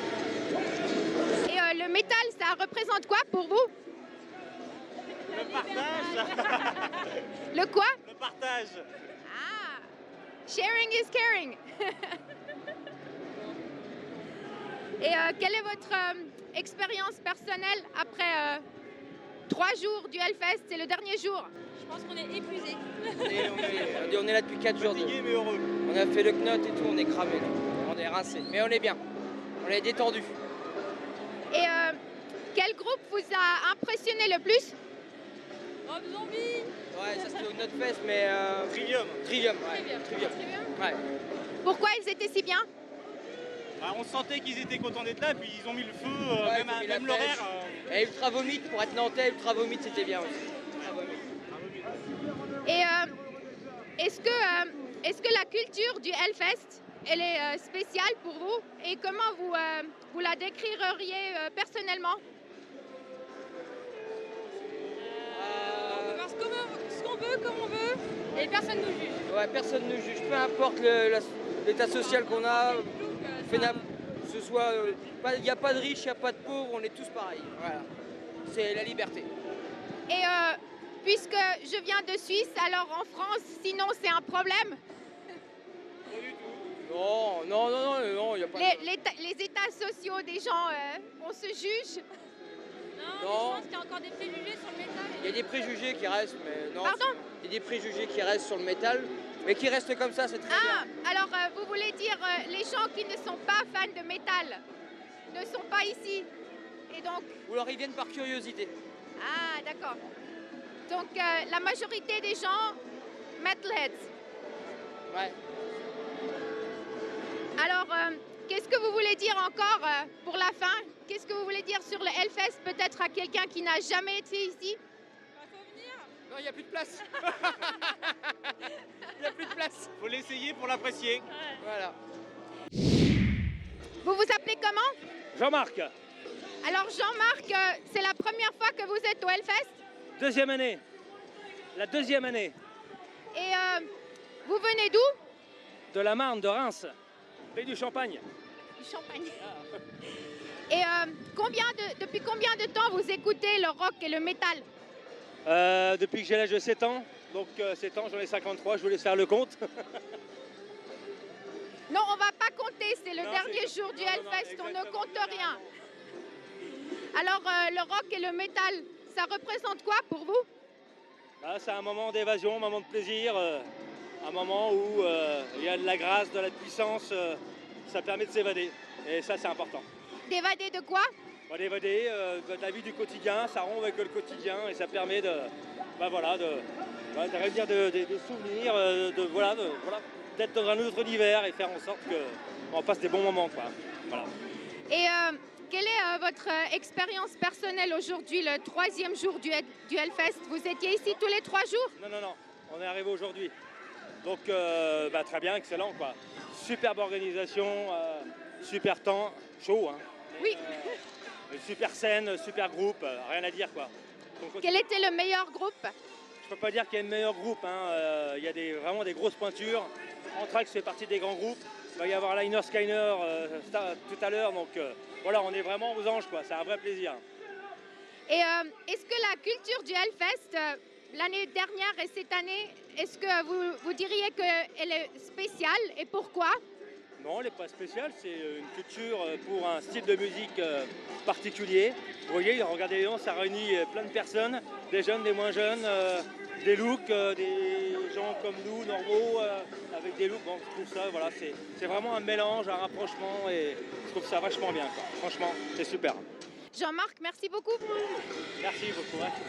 Et le métal, ça représente quoi pour vous? Le partage. Le quoi? Le partage. Ah, sharing is caring. Et quelle est votre expérience personnelle après 3 jours du Hellfest? C'est le dernier jour. Je pense qu'on est épuisés. On est là depuis 4 jours. Fatigué mais heureux. On a fait le knot et tout, on est cramé là. On est rincé. Mais on est bien. On est détendu. Et quel groupe vous a impressionné le plus? Rob Zombie. Ouais, ça c'était au Notfest, mais. Trivium. Trivium, ouais. Trivium. Ouais. Pourquoi ils étaient si bien? Bah, on sentait qu'ils étaient contents d'être là, puis ils ont mis le feu, Ouais, ils ont mis la même l'horaire. Et Ultra Vomit, pour être nantais, Ultra Vomit c'était bien aussi. Ultra Vomit. Et est-ce que la culture du Hellfest, elle est spéciale pour vous? Et comment vous la décririez personnellement? On peut faire ce qu'on veut, comme on veut, et personne ne nous juge. Ouais, personne ne juge, peu importe l'état social qu'on a. Ce soit, il n'y a pas de riches, il n'y a pas de pauvres, on est tous pareils. Voilà. C'est la liberté. Et puisque je viens de Suisse, alors en France, sinon c'est un problème? Non, il n'y a pas de... Les états sociaux des gens, on se juge? Non, mais je pense qu'il y a encore des préjugés sur le métal. Il y a des préjugés qui restent, mais non. Pardon? Il y a des préjugés qui restent sur le métal, mais qui restent comme ça, c'est très bien. Alors vous voulez dire les gens qui ne sont pas fans de métal ne sont pas ici? Et donc... Ou alors ils viennent par curiosité. Ah, d'accord. Donc la majorité des gens, metalheads. Ouais. Alors, qu'est-ce que vous voulez dire encore pour la fin? Qu'est-ce que vous voulez dire sur le Hellfest, peut-être à quelqu'un qui n'a jamais été ici? Faut venir. Non, il n'y a plus de place. Il n'y a plus de place. Faut l'essayer pour l'apprécier. Voilà. Vous vous appelez comment? Jean-Marc, Alors Jean-Marc, c'est la première fois que vous êtes au Hellfest? deuxième année. La deuxième année. Et vous venez d'où? De la Marne, de Reims. Pays du Champagne. Du Champagne. Et depuis combien de temps vous écoutez le rock et le métal? Depuis que j'ai l'âge de 7 ans. Donc 7 ans, j'en ai 53, je vous laisse faire le compte. Non, on va pas compter, c'est le Non, dernier c'est- jour du non, Hellfest, on ne exactement. compte rien. Alors le rock et le métal, ça représente quoi pour vous? Là, c'est un moment d'évasion, un moment de plaisir, un moment où il y a de la grâce, de la puissance, ça permet de s'évader. Et ça, c'est important. D'évader de quoi? D'évader de la vie du quotidien, ça rompt avec le quotidien et ça permet de réunir des souvenirs, d'être dans un autre univers et faire en sorte qu'on passe des bons moments, quoi. Voilà. Et quelle est votre expérience personnelle aujourd'hui, le 3e jour du Hellfest? Vous étiez ici tous les 3 jours? Non, on est arrivé aujourd'hui. Donc très bien, excellent, quoi. Superbe organisation, super temps, chaud, hein. Oui. Super scène, super groupe, rien à dire, quoi. Donc, Quel était le meilleur groupe? je peux pas dire qu'il y a le meilleur groupe, hein. Il y a vraiment des grosses pointures. Anthrax fait partie des grands groupes. Il va y avoir Liner Skyner tout à l'heure, donc voilà, on est vraiment aux anges, quoi. C'est un vrai plaisir. Et est-ce que la culture du Hellfest, l'année dernière et cette année, est-ce que vous diriez qu'elle est spéciale et pourquoi? Non, elle n'est pas spéciale, c'est une culture pour un style de musique particulier. Vous voyez, regardez, ça réunit plein de personnes, des jeunes, des moins jeunes, des looks, des gens comme nous, normaux, avec des looks. Bon, je trouve ça, voilà, c'est vraiment un mélange, un rapprochement et je trouve ça vachement bien, quoi. Franchement, c'est super. Jean-Marc, merci beaucoup. Merci beaucoup. Ouais.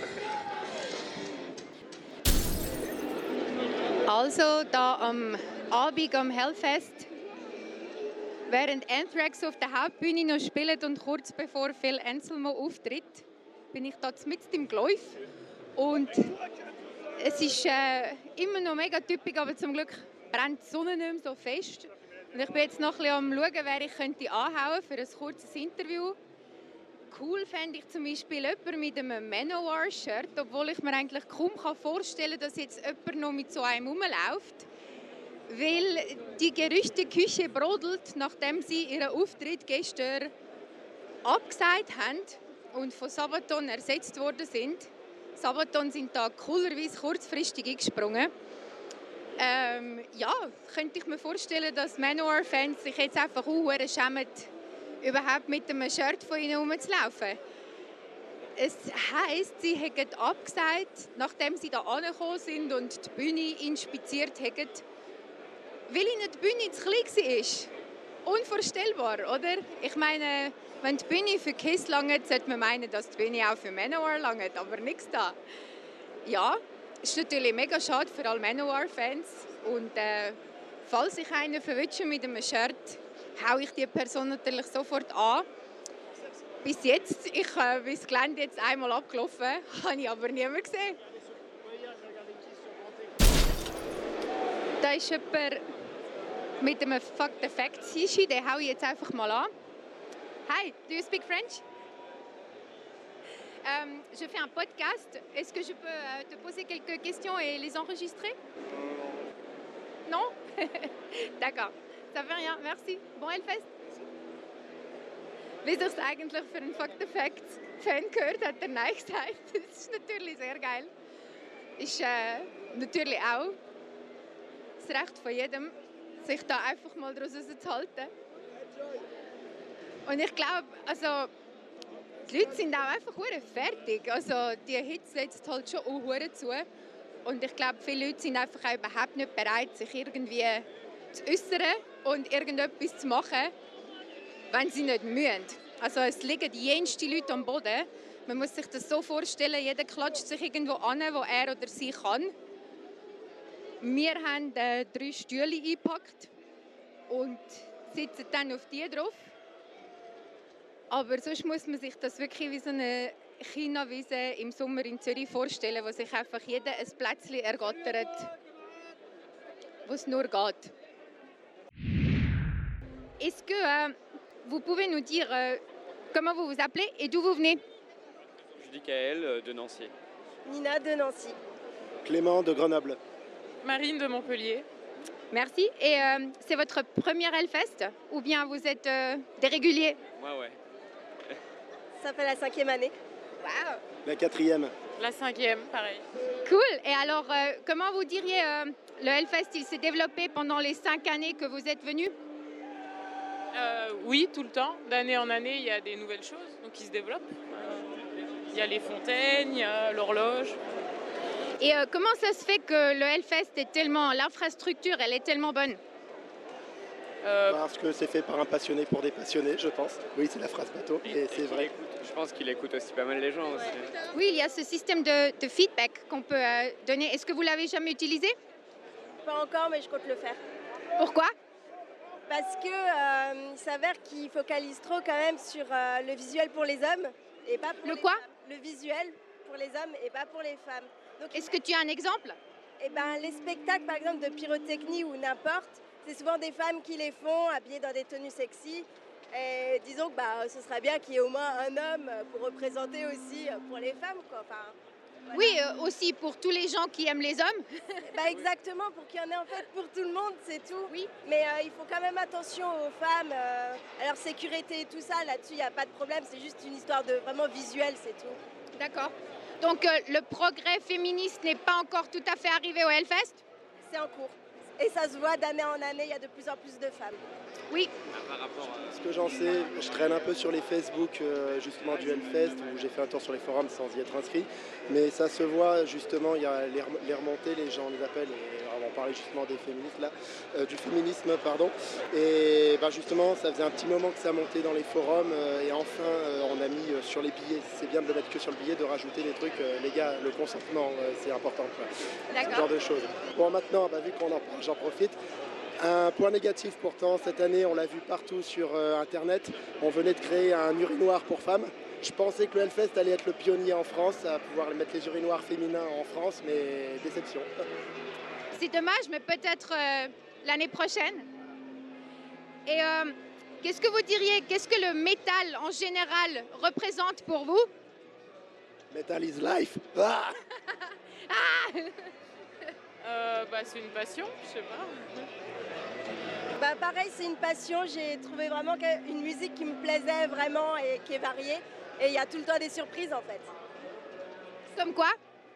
Also, da am Abend am Hellfest, während Anthrax auf der Hauptbühne noch spielt und kurz bevor Phil Anselmo auftritt, bin ich da mitten im Gleuf. Und es ist immer noch mega typisch, aber zum Glück brennt die Sonne nicht mehr so fest. Und ich bin jetzt noch ein bisschen am Schauen, wer ich könnte anhauen für ein kurzes Interview. Cool fände ich zum Beispiel jemanden mit einem Manowar-Shirt, obwohl ich mir eigentlich kaum vorstellen kann, dass jetzt jemand noch mit so einem rumläuft. Weil die Gerüchteküche brodelt, nachdem sie ihren Auftritt gestern abgesagt haben und von Sabaton ersetzt worden sind. Sabaton sind da coolerweise kurzfristig eingesprungen. Ja, könnte ich mir vorstellen, dass Manowar-Fans sich jetzt einfach schämen, überhaupt mit einem Shirt von ihnen herumzulaufen. Es heisst, sie haben abgesagt, nachdem sie da angekommen sind und die Bühne inspiziert haben, weil ihnen die Bühne zu klein war. Unvorstellbar, oder? Ich meine, wenn die Bühne für Kiss langt, sollte man meinen, dass die Bühne auch für Manowar langt, aber nichts da. Ja, ist natürlich mega schade für alle Manowar-Fans. Und falls ich einen verwünsche mit einem Shirt, haue ich die Person natürlich sofort an. Bis jetzt, ich bin das Gelände jetzt einmal abgelaufen, habe ich aber niemanden gesehen. Da ist jemand mit einem Fuck the Facts Hishi, den haue ich jetzt einfach mal an. Hi, do you speak French? Je fais un podcast. Est-ce que je peux te poser quelques questions et les enregistrer? Non? D'accord. Ça fait rien, merci. Bon Hellfest. Wie sich es eigentlich für einen Fuck the Facts Fan gehört, hat er Nein gesagt. Das ist natürlich sehr geil. Ist natürlich auch das Recht von jedem, sich da einfach mal daraus rauszuhalten. Und ich glaube, also, die Leute sind auch einfach fertig. Also, die Hitze setzt halt schon auch zu. Und ich glaube, viele Leute sind einfach auch überhaupt nicht bereit, sich irgendwie zu äußern und irgendetwas zu machen, wenn sie nicht müssen. Also es liegen jenste Leute am Boden. Man muss sich das so vorstellen, jeder klatscht sich irgendwo an, wo er oder sie kann. Wir haben 3 Stühle eingepackt und sitzen dann auf die drauf. Aber sonst muss man sich das wirklich wie so eine China-Wiese im Sommer in Zürich vorstellen, wo sich einfach jeder ein Plätzchen ergattert, wo es nur geht. Est-ce que vous pouvez nous dire comment vous vous appelez et d'où vous venez? Je dis Kaël de Nancy. Nina de Nancy. Clément de Grenoble. Marine de Montpellier. Merci. Et c'est votre première Hellfest ou bien vous êtes des réguliers? Moi, ouais. Ça fait la 5e année. Wow. La 4e. La 5e, pareil. Cool. Et alors, comment vous diriez le Hellfest, il s'est développé pendant les 5 années que vous êtes venus? Oui, tout le temps. D'année en année, il y a des nouvelles choses qui se développent. Il y a les fontaines, il y a l'horloge. Et comment ça se fait que le Hellfest est tellement... L'infrastructure, elle est tellement bonne? Parce que c'est fait par un passionné pour des passionnés, je pense. Oui, c'est la phrase bateau, et c'est vrai. Je pense qu'il écoute aussi pas mal les gens aussi. Oui, il y a ce système de feedback qu'on peut donner. Est-ce que vous l'avez jamais utilisé? Pas encore, mais je compte le faire. Pourquoi? Parce que il s'avère qu'il focalise trop quand même sur le visuel pour les hommes et pas pour le les quoi? femmes. Le visuel pour les hommes et pas pour les femmes. Donc, est-ce que tu as un exemple? Eh ben, les spectacles par exemple de pyrotechnie ou n'importe, c'est souvent des femmes qui les font, habillées dans des tenues sexy. Et disons que ce serait bien qu'il y ait au moins un homme pour représenter aussi pour les femmes, quoi. Enfin, voilà. Oui, aussi pour tous les gens qui aiment les hommes. Exactement, pour qu'il y en ait en fait pour tout le monde, c'est tout. Oui. Mais il faut quand même attention aux femmes, à leur sécurité et tout ça. Là-dessus, il n'y a pas de problème, c'est juste une histoire de vraiment visuel, c'est tout. D'accord. Donc le progrès féministe n'est pas encore tout à fait arrivé au Hellfest? C'est en cours. Et ça se voit d'année en année, il y a de plus en plus de femmes. Oui. Par rapport à... Ce que j'en sais, je traîne un peu sur les Facebook justement du Hellfest où j'ai fait un tour sur les forums sans y être inscrit. Mais ça se voit justement, il y a les remontées, les gens les appellent, et on parlait justement des féministes là, du féminisme pardon. Et justement ça faisait un petit moment que ça montait dans les forums et enfin on a mis sur les billets, c'est bien de le mettre que sur le billet, de rajouter des trucs, les gars, le consentement c'est important quoi. Ce genre de choses. Bon maintenant, vu qu'on en parle, j'en profite. Un point négatif pourtant, cette année, on l'a vu partout sur Internet, on venait de créer un urinoir pour femmes. Je pensais que le Hellfest allait être le pionnier en France à pouvoir mettre les urinoirs féminins en France, mais déception. C'est dommage, mais peut-être l'année prochaine. Et qu'est-ce que vous diriez, qu'est-ce que le métal en général représente pour vous? Metal is life. Ah C'est une passion, je sais pas. Pareil, c'est une passion. J'ai trouvé vraiment une musique qui me plaisait vraiment et qui est variée. Et il y a tout le temps des surprises en fait. Comme quoi?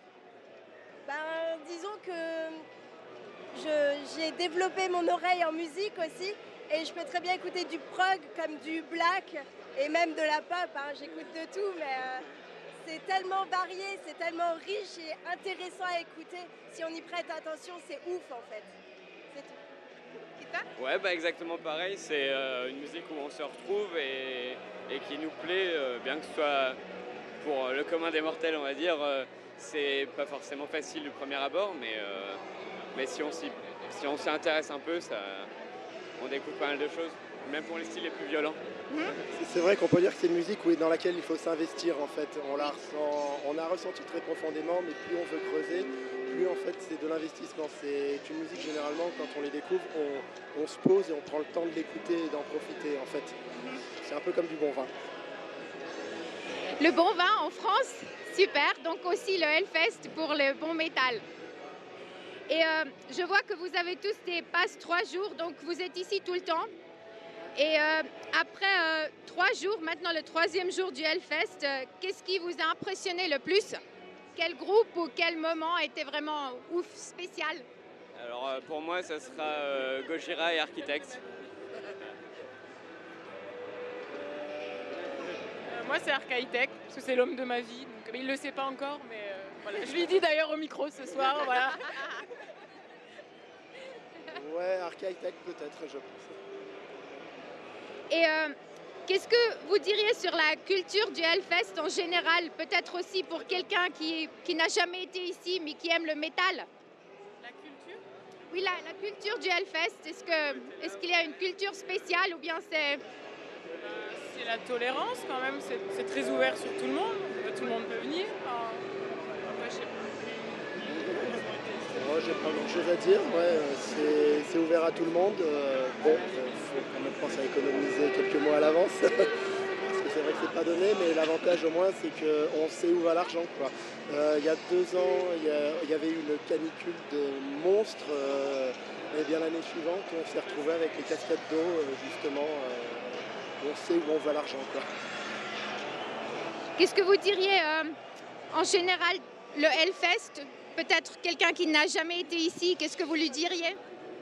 Disons que j'ai développé mon oreille en musique aussi. Et je peux très bien écouter du prog comme du black et même de la pop. J'écoute de tout, mais c'est tellement varié, c'est tellement riche et intéressant à écouter. Si on y prête attention, c'est ouf en fait. C'est tout. Ouais, exactement pareil. C'est une musique où on se retrouve et qui nous plaît, bien que ce soit pour le commun des mortels, on va dire. C'est pas forcément facile du premier abord, mais si on s'y intéresse un peu, on découvre pas mal de choses, même pour les styles les plus violents. C'est vrai qu'on peut dire que c'est une musique dans laquelle il faut s'investir en fait. On a ressenti très profondément, mais plus on veut creuser, plus en fait c'est de l'investissement. C'est une musique généralement quand on les découvre, on se pose et on prend le temps de l'écouter et d'en profiter en fait. C'est un peu comme du bon vin. Le bon vin en France, super. Donc aussi le Hellfest pour le bon métal. Et je vois que vous avez tous des passes 3 jours, donc vous êtes ici tout le temps. Et après 3 jours, maintenant le 3e jour du Hellfest, qu'est-ce qui vous a impressionné le plus? Quel groupe ou quel moment était vraiment ouf, spécial? Alors pour moi, ça sera Gojira et Architect. Moi, c'est Archaitect, parce que c'est l'homme de ma vie. Donc, il ne le sait pas encore, mais voilà. Je lui dis d'ailleurs au micro ce soir. Voilà. Ouais, Architect peut-être, je pense. Et qu'est-ce que vous diriez sur la culture du Hellfest en général? Peut-être aussi pour quelqu'un qui n'a jamais été ici, mais qui aime le métal. La culture? Oui, la culture du Hellfest. Est-ce qu'il y a une culture spéciale ou bien c'est... C'est la tolérance quand même, c'est très ouvert sur tout le monde peut venir. Après, je sais pas. Moi, j'ai pas grand-chose à dire, c'est ouvert à tout le monde. Il faut quand même penser à économiser quelques mois à l'avance, parce que c'est vrai que c'est pas donné, mais l'avantage au moins c'est qu'on sait où va l'argent. Il y a 2 ans, il y avait eu une canicule de monstres, et bien l'année suivante, on s'est retrouvé avec les cascades d'eau, justement. On sait où on va l'argent. Qu'est-ce que vous diriez en général, le Hellfest? Peut-être quelqu'un qui n'a jamais été ici, qu'est-ce que vous lui diriez?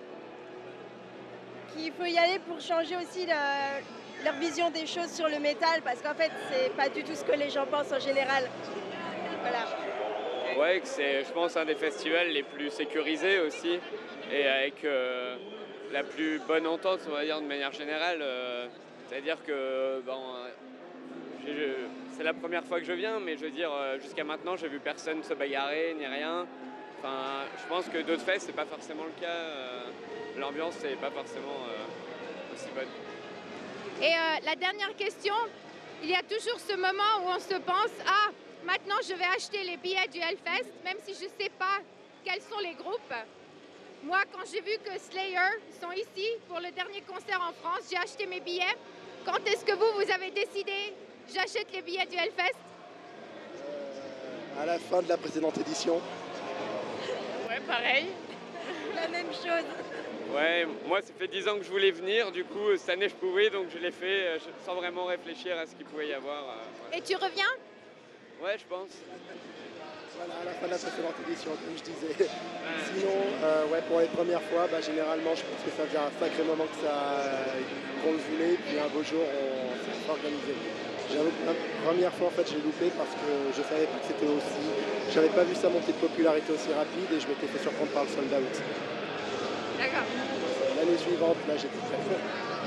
Qu'il faut y aller pour changer aussi leur vision des choses sur le métal, parce qu'en fait, c'est pas du tout ce que les gens pensent en général. Voilà. Ouais, que c'est, je pense, un des festivals les plus sécurisés aussi, et avec la plus bonne entente, on va dire, de manière générale. C'est-à-dire que c'est la première fois que je viens, mais je veux dire, jusqu'à maintenant, j'ai vu personne se bagarrer, ni rien. Enfin, je pense que d'autres fests, c'est pas forcément le cas. L'ambiance, c'est pas forcément aussi bonne. Et la dernière question, il y a toujours ce moment où on se pense « Ah, maintenant je vais acheter les billets du Hellfest, même si je ne sais pas quels sont les groupes. » Moi, quand j'ai vu que Slayer sont ici pour le dernier concert en France, j'ai acheté mes billets. Quand est-ce que vous avez décidé « J'achète les billets du Hellfest » À la fin de la précédente édition. Ouais, pareil. La même chose. Ouais, moi ça fait 10 ans que je voulais venir, du coup cette année je pouvais, donc je l'ai fait sans vraiment réfléchir à ce qu'il pouvait y avoir. Et tu reviens? Ouais, je pense. Voilà, à la fin de la précédente édition, comme je disais. Sinon, pour les premières fois, généralement, je pense que ça faisait un sacré moment qu'on le voulait, puis un beau jour, on s'est organisé. J'avoue que la première fois, en fait, j'ai loupé parce que je ne savais pas que c'était aussi. J'avais pas vu ça monter de popularité aussi rapide et je m'étais fait surprendre par le sold out. D'accord. L'année suivante, là, j'étais très fort.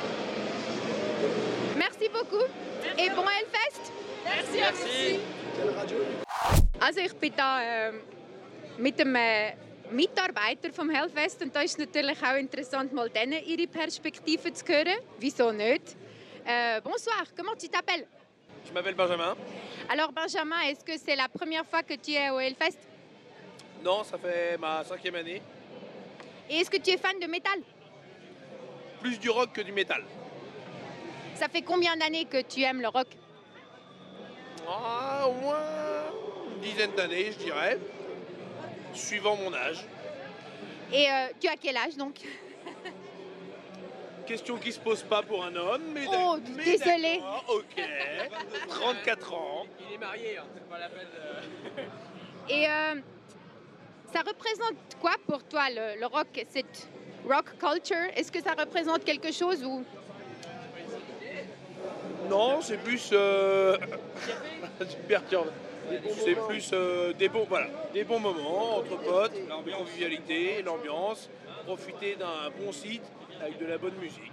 Merci beaucoup et bon Hellfest. Merci. Also ich bin da mit einem Mitarbeiter vom Hellfest und da ist natürlich auch interessant, mal denen ihre Perspektive zu hören. Wieso nicht? Bonsoir, comment tu t'appelles? Je m'appelle Benjamin. Alors Benjamin, est-ce que c'est la première fois que tu es au Hellfest? Non, ça fait ma 5e année. Et est-ce que tu es fan de métal? Plus du rock que du métal. Ça fait combien d'années que tu aimes le rock? Au moins une dizaine d'années, je dirais, suivant mon âge. Et tu as quel âge donc? Question qui se pose pas pour un homme, mais oh, désolé. Ok, 34 ans. Il est marié, c'est pas la peine de... Et ça représente quoi pour toi le rock, cette rock culture? Est-ce que ça représente quelque chose ou... Non, c'est plus... super perturbant. C'est plus des bons moments entre potes, la convivialité, l'ambiance, profiter d'un bon site avec de la bonne musique.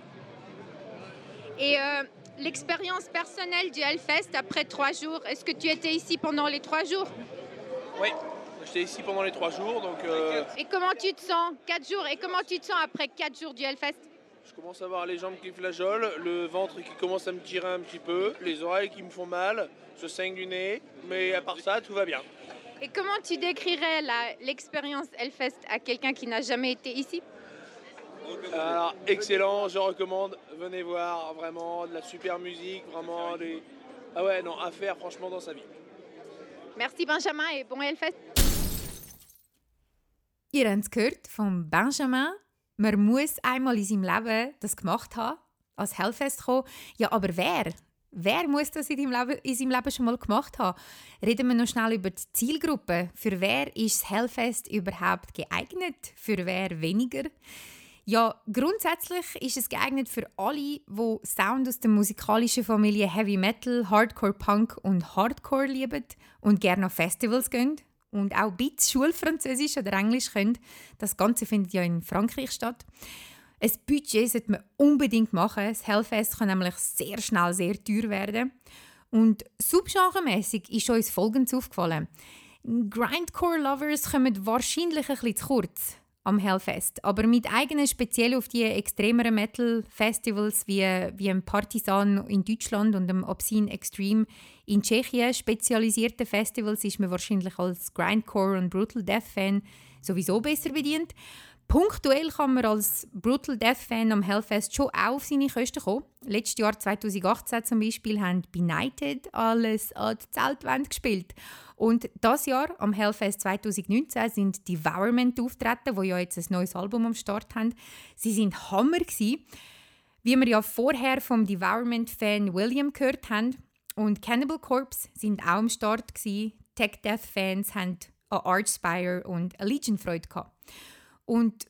Et l'expérience personnelle du Hellfest après 3 jours, est-ce que tu étais ici pendant les 3 jours? Oui, j'étais ici pendant les 3 jours. Donc, Et comment tu te sens 4 jours? Et comment tu te sens après 4 jours du Hellfest? Je commence à avoir les jambes qui flageolent, le ventre qui commence à me tirer un petit peu, les oreilles qui me font mal, je saigne du nez, mais à part ça, tout va bien. Et comment tu décrirais l'expérience Hellfest à quelqu'un qui n'a jamais été ici? Alors, excellent, je recommande, venez voir, vraiment, de la super musique, vraiment des... Ah ouais, non, à faire franchement dans sa vie. Merci Benjamin et bon Hellfest. Ihr habt es gehört von Benjamin. Man muss einmal in seinem Leben das gemacht haben, als Hellfest kommen. Ja, aber wer? Wer muss das in seinem Leben schon mal gemacht haben? Reden wir noch schnell über die Zielgruppe. Für wer ist das Hellfest überhaupt geeignet? Für wer weniger? Ja, grundsätzlich ist es geeignet für alle, die Sound aus der musikalischen Familie Heavy Metal, Hardcore Punk und Hardcore lieben und gerne auf Festivals gehen und auch ein bisschen Schulfranzösisch oder Englisch können. Das Ganze findet ja in Frankreich statt. Ein Budget sollte man unbedingt machen. Das Hellfest kann nämlich sehr schnell sehr teuer werden. Und subgenremässig ist uns Folgendes aufgefallen. Grindcore-Lovers kommen wahrscheinlich ein bisschen zu kurz am Hellfest, aber mit eigenen speziell auf die extremeren Metal-Festivals wie im Partisan in Deutschland und dem Obscene Extreme in Tschechien spezialisierten Festivals ist man wahrscheinlich als Grindcore- und Brutal Death-Fan sowieso besser bedient. Punktuell kann man als Brutal Death-Fan am Hellfest schon auch auf seine Kosten kommen. Letztes Jahr 2018 zum Beispiel haben Benighted alles an die Zeltwand gespielt. Und dieses Jahr, am Hellfest 2019, sind Devourment auftreten, die ja jetzt ein neues Album am Start haben. Sie sind Hammer gewesen, wie wir ja vorher vom Devourment-Fan William gehört haben. Und Cannibal Corpse sind auch am Start gewesen. Tech Death-Fans haben an Archspire und Allegiant Freude gehabt. Und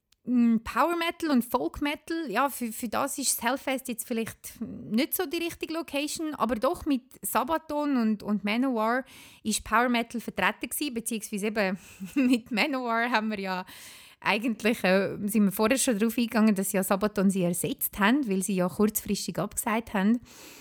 Power Metal und Folk Metal, ja, für das ist das Hellfest jetzt vielleicht nicht so die richtige Location, aber doch mit Sabaton und Manowar ist Power Metal vertreten gewesen, beziehungsweise eben mit Manowar haben wir ja eigentlich, sind wir vorher schon darauf eingegangen, dass ja Sabaton sie ersetzt haben, weil sie ja kurzfristig abgesagt haben.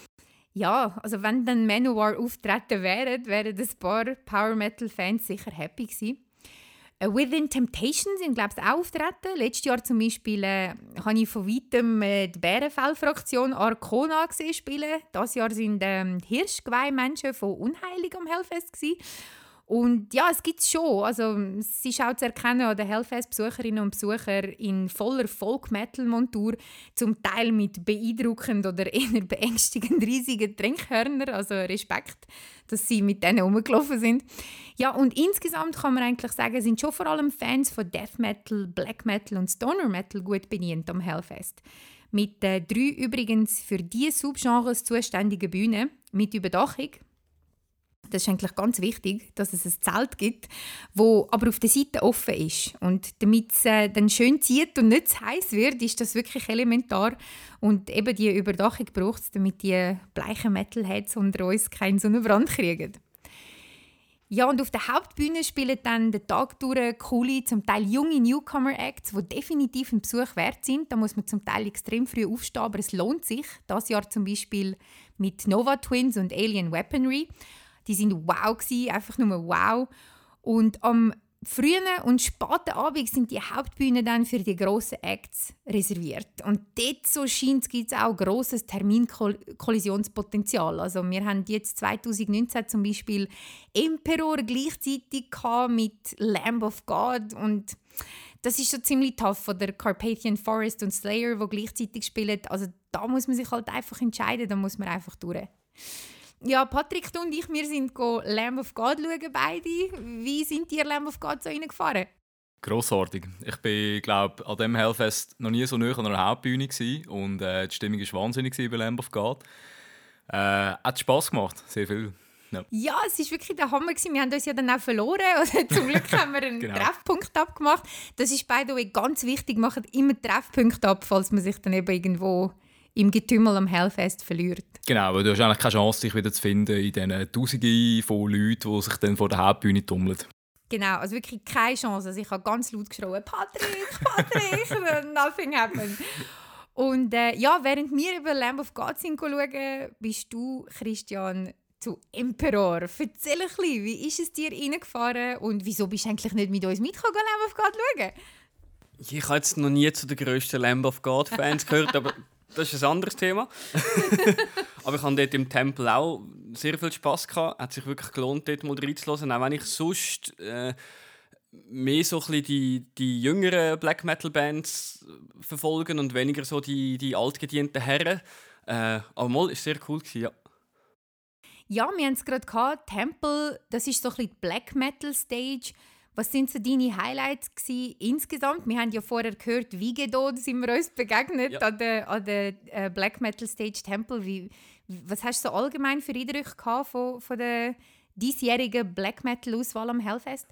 Ja, also wenn dann Manowar auftreten wären ein paar Power Metal Fans sicher happy gewesen. Within Temptation sind, glaube ich, auch auftreten. Letztes Jahr zum Beispiel habe ich von weitem die Bärenfell-Fraktion Arcona gesehen spielen. Dieses Jahr sind Hirschgeweih-Menschen von Unheilig am Hellfest gewesen. Und ja, es gibt es schon. Also, es ist auch zu erkennen an den Hellfest-Besucherinnen und Besuchern in voller Folk-Metal-Montur, zum Teil mit beeindruckend oder eher beängstigend riesigen Trinkhörnern. Also Respekt, dass sie mit denen rumgelaufen sind. Ja, und insgesamt kann man eigentlich sagen, sind schon vor allem Fans von Death Metal, Black Metal und Stoner Metal gut bedient am Hellfest. Mit 3 übrigens für diese Subgenres zuständigen Bühnen mit Überdachung. Das ist eigentlich ganz wichtig, dass es ein Zelt gibt, das aber auf der Seite offen ist. Und damit es dann schön zieht und nicht zu heiß wird, ist das wirklich elementar. Und eben die Überdachung braucht es, damit die bleichen Metalheads unter uns keinen Sonnenbrand kriegen. Ja, und auf der Hauptbühne spielen dann den Tag durch coole, zum Teil junge Newcomer-Acts, die definitiv einen Besuch wert sind. Da muss man zum Teil extrem früh aufstehen, aber es lohnt sich. Das Jahr zum Beispiel mit Nova Twins und Alien Weaponry. Die sind wow gewesen, einfach nur wow. Und am frühen und späten Abend sind die Hauptbühnen dann für die grossen Acts reserviert. Und dort, so scheint es, gibt es auch grosses Terminkollisionspotenzial. Also wir haben jetzt 2019 zum Beispiel Emperor gleichzeitig mit Lamb of God und das ist schon ziemlich tough. Oder Carpathian Forest und Slayer, die gleichzeitig spielen. Also da muss man sich halt einfach entscheiden, da muss man einfach durch. Ja, Patrick, du und ich, wir sind Lamb of God schauen, beide. Wie sind die Lamb of God so reingefahren? Grossartig. Ich bin, glaube an diesem Hellfest noch nie so nah an einer Hauptbühne gewesen. Und die Stimmung war wahnsinnig bei Lamb of God. Hat Spass gemacht, sehr viel. Ja, es war wirklich der Hammer. Wir haben uns ja dann auch verloren. Oder zum Glück haben wir einen Treffpunkt abgemacht. Das ist by the way ganz wichtig. Macht immer Treffpunkte ab, falls man sich dann eben irgendwo im Getümmel am Hellfest verliert. Genau, weil du hast eigentlich keine Chance, dich wieder zu finden in diesen Tausenden von Leuten, die sich dann vor der Hauptbühne tummeln. Genau, also wirklich keine Chance. Also ich habe ganz laut geschrien, Patrick, nothing happened. Und während wir über Lamb of God schauen, bist du, Christian, zu Emperor. Erzähl ein bisschen, wie ist es dir reingefahren und wieso bist du eigentlich nicht mit uns mitgekommen, Lamb of God schauen? Ich habe jetzt noch nie zu den grössten Lamb of God-Fans gehört, aber das ist ein anderes Thema. Aber ich hatte dort im Tempel auch sehr viel Spass gehabt. Hat sich wirklich gelohnt, dort mal reinzuhören. Auch wenn ich sonst mehr so ein bisschen die jüngeren Black Metal Bands verfolgen und weniger so die altgedienten Herren. Aber mal war sehr cool gewesen, ja. Ja, wir haben es gerade gehabt. Tempel, das ist so ein bisschen die Black Metal Stage. Was sind so deine Highlights gewesen, insgesamt? Wir haben ja vorher gehört, Vigedo, da sind wir uns begegnet an der Black Metal Stage Tempel. Was hast du so allgemein für Eindrücke gehabt von der diesjährigen Black Metal Auswahl am Hellfest?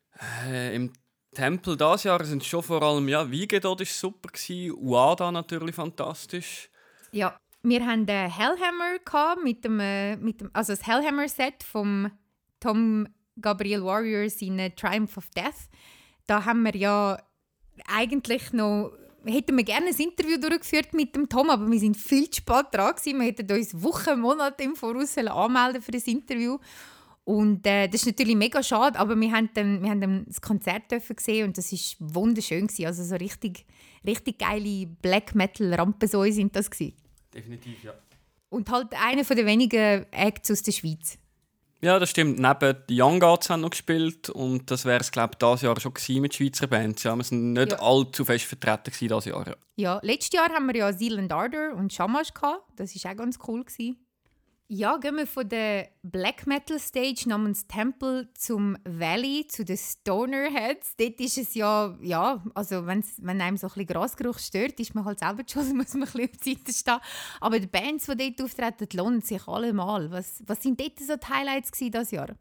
Im Tempel dieses Jahr sind schon vor allem Vigedo war super gewesen, Uada natürlich fantastisch. Ja, wir haben den Hellhammer gehabt also das Hellhammer Set vom Tom Gabriel Warriors in Triumph of Death. Da haben wir ja eigentlich noch, hätten wir gerne ein Interview durchgeführt mit dem Tom, aber wir sind viel zu spät dran gewesen. Wir hätten uns Wochen, Monate im Voraus anmelden für das Interview. Und das ist natürlich mega schade, aber wir haben dann das Konzert gesehen und das war wunderschön gewesen. Also so richtig geile Black Metal Rampensäue sind das gewesen. Definitiv, ja. Und halt einer der wenigen Acts aus der Schweiz. Ja, das stimmt. Neben die Young Gods haben noch gespielt und das wäre es, glaube ich, dieses Jahr schon gewesen mit Schweizer Bands. Ja, wir sind nicht allzu fest vertreten dieses Jahr. Ja. Ja, letztes Jahr haben wir ja Zealand Ardor und Shamash gehabt. Das war auch ganz cool gewesen. Ja, gehen wir von der Black Metal Stage namens Temple zum Valley, zu den Stoner Heads. Dort ist es also wenn einem so ein bisschen Grasgeruch stört, ist man halt selber schon, muss man ein bisschen auf die Seite stehen. Aber die Bands, die dort auftreten, lohnen sich allemal. Was sind dort so die Highlights dieses Jahr?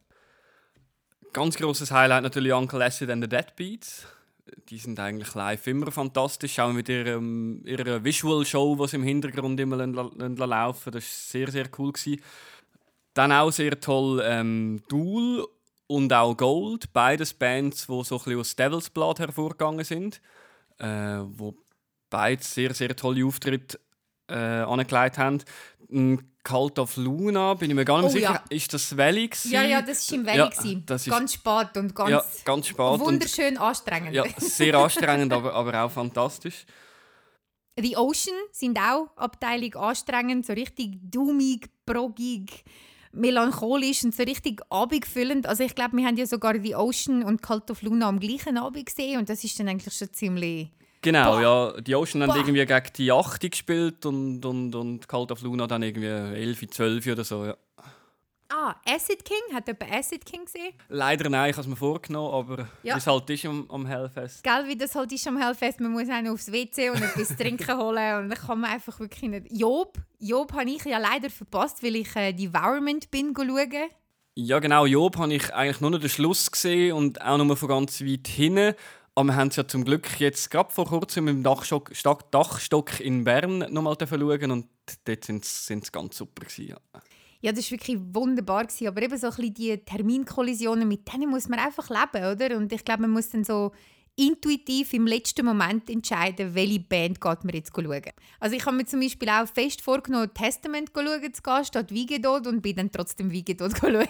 Ganz grosses Highlight natürlich Uncle Acid and the Deadbeats. Die sind eigentlich live immer fantastisch, auch mit ihrer Visual-Show, die sie im Hintergrund immer laufen. Das war sehr, sehr cool gewesen. Dann auch sehr toll Duel und auch Gold, beides Bands, die so ein bisschen aus Devil's Blood hervorgegangen sind, wo beide sehr, sehr tolle Auftritte angelegt haben. Cult of Luna, bin ich mir gar nicht sicher. Ja. Ist das Valley gewesen? Ja, das war im Valley. Ganz spät und ganz spät wunderschön anstrengend. Ja, sehr anstrengend, aber auch fantastisch. The Ocean sind auch Abteilung anstrengend, so richtig dummig, progig, melancholisch und so richtig abendfüllend. Also ich glaube, wir haben ja sogar The Ocean und Cult of Luna am gleichen Abend gesehen und das ist dann eigentlich schon ziemlich... Genau, ja. Die Ocean haben irgendwie gegen die 8 gespielt und Cult of Luna dann irgendwie 11, 12 oder so, ja. Acid King? Hat jemand Acid King gesehen? Leider nein, ich habe es mir vorgenommen, aber wie es halt ist am Hellfest. Gell, wie das halt ist am Hellfest, man muss auch noch aufs WC und etwas trinken holen und dann kann man einfach wirklich nicht... Job habe ich ja leider verpasst, weil ich Devourment bin schauen. Ja genau, Job habe ich eigentlich nur noch den Schluss gesehen und auch nur von ganz weit hinten. Aber wir haben es ja zum Glück jetzt gerade vor kurzem im Dachstock in Bern nochmal schauen und dort sind sie ganz super gewesen, ja. Ja, das war wirklich wunderbar gewesen, aber eben so ein bisschen die Terminkollisionen, mit denen muss man einfach leben, oder? Und ich glaube, man muss dann so intuitiv im letzten Moment entscheiden, welche Band geht man jetzt schauen. Also ich habe mir zum Beispiel auch fest vorgenommen, Testament schauen zu gehen, statt Vigedot, und bin dann trotzdem Vigedot schauen.